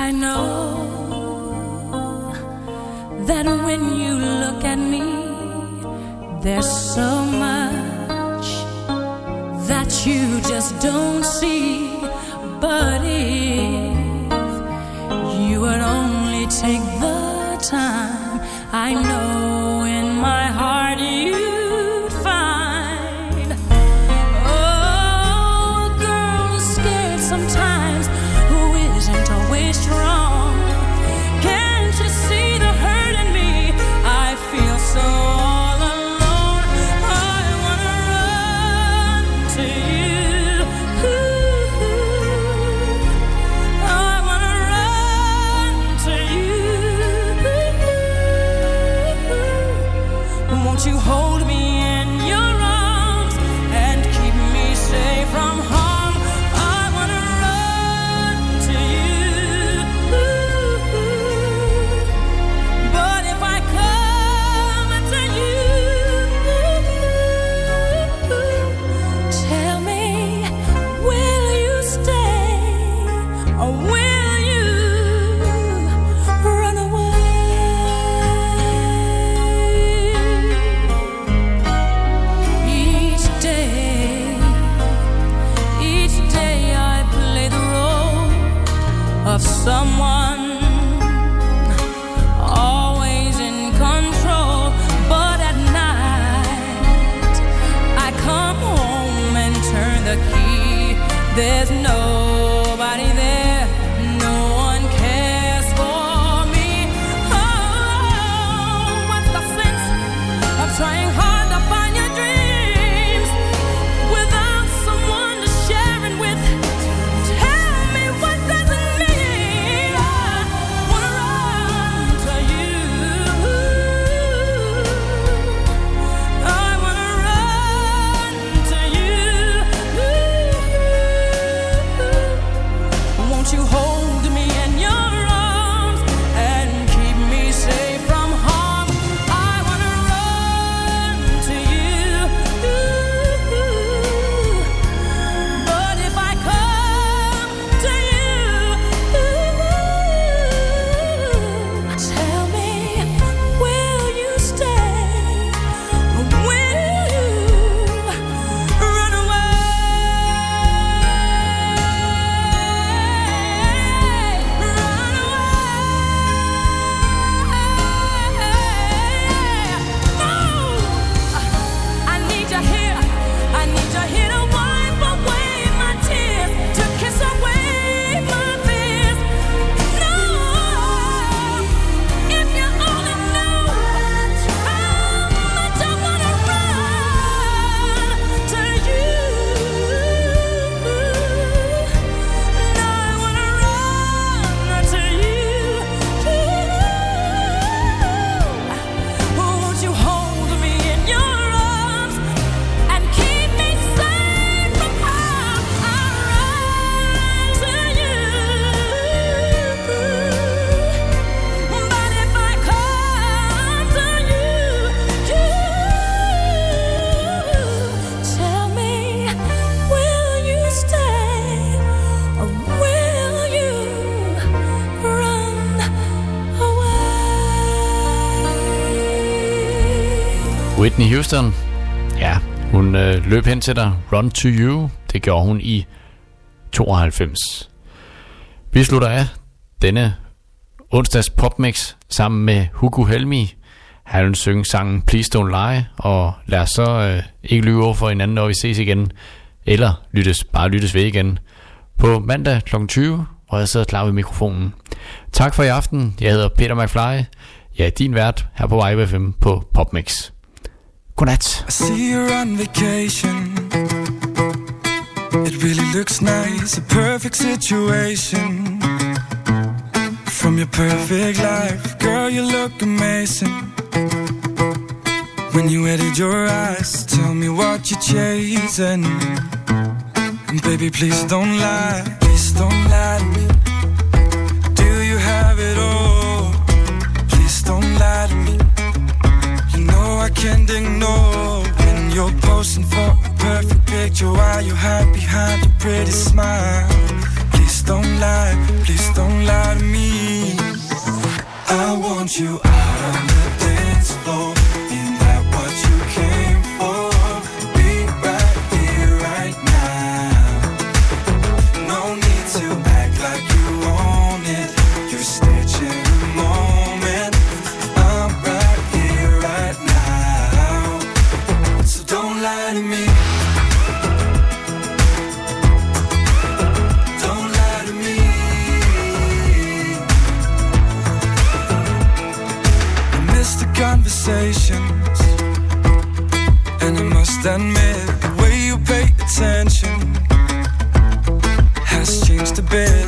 I know that when you look at me, there's so much that you just don't see. But if you would only take the time, I know in my heart you'd find. Oh, a girl is scared sometimes who isn't always strong. Can't you see the hurt in me? I feel so all alone. I wanna run to you. I wanna run to you. Won't you hold me in your arms and keep me safe from harm? I wanna run to you. But if I come to you, tell me, will you stay or will you run away? Each day I play the role of someone always in control. But at night I come home and turn the key. There's nobody there, no one cares for me. Oh, what's the sense of trying hard to find your dreams without someone to share it with? Tell me, what does it mean? I wanna run to you. I wanna run to you. Won't you hold me in your arms and keep me safe from harm? I wanna run to you. But if I come to you, tell me, will you stay or will you run away? Run away. No, I need you here. I need you here to wipe away my tears, to kiss away my fears. No, if you only knew how much I wanna run to you. No, I wanna run to you. Won't you hold me in your arms and keep me safe from harm? I run to you. But if I come to you, tell me, will you stay or will you run away? Whitney Houston, ja, hun løb hen til dig. Run to you, det gjorde hun i 92. Vi slutter af denne onsdags popmix sammen med Hugo Helmi. Han vil synge sangen Please Don't Lie, og lad os så ikke lyve over for hinanden, når vi ses igen, eller lyttes ved igen på mandag kl. 20, hvor jeg sidder klar ved mikrofonen. Tak for i aften. Jeg hedder Peter McFly. Jeg er din vært her på Vibe FM på PopMix. Godnat. I see you're on vacation. It really looks nice, a perfect situation. From your perfect life, girl, you look amazing. When you edit your eyes, tell me what you're chasing. And baby, please don't lie, please don't lie to me. Do you have it all? Please don't lie to me. You know I can't ignore when you're posing for a perfect picture while you hide behind a pretty smile. Please don't lie to me. want you out on the dance floor. Ain't that what you came for? Be right here, right now. No need to act like you own it. You're stitching a moment. I'm right here, right now. So don't lie to me. Don't lie to me. I miss the conversations, and I must admit the way you pay attention has changed a bit.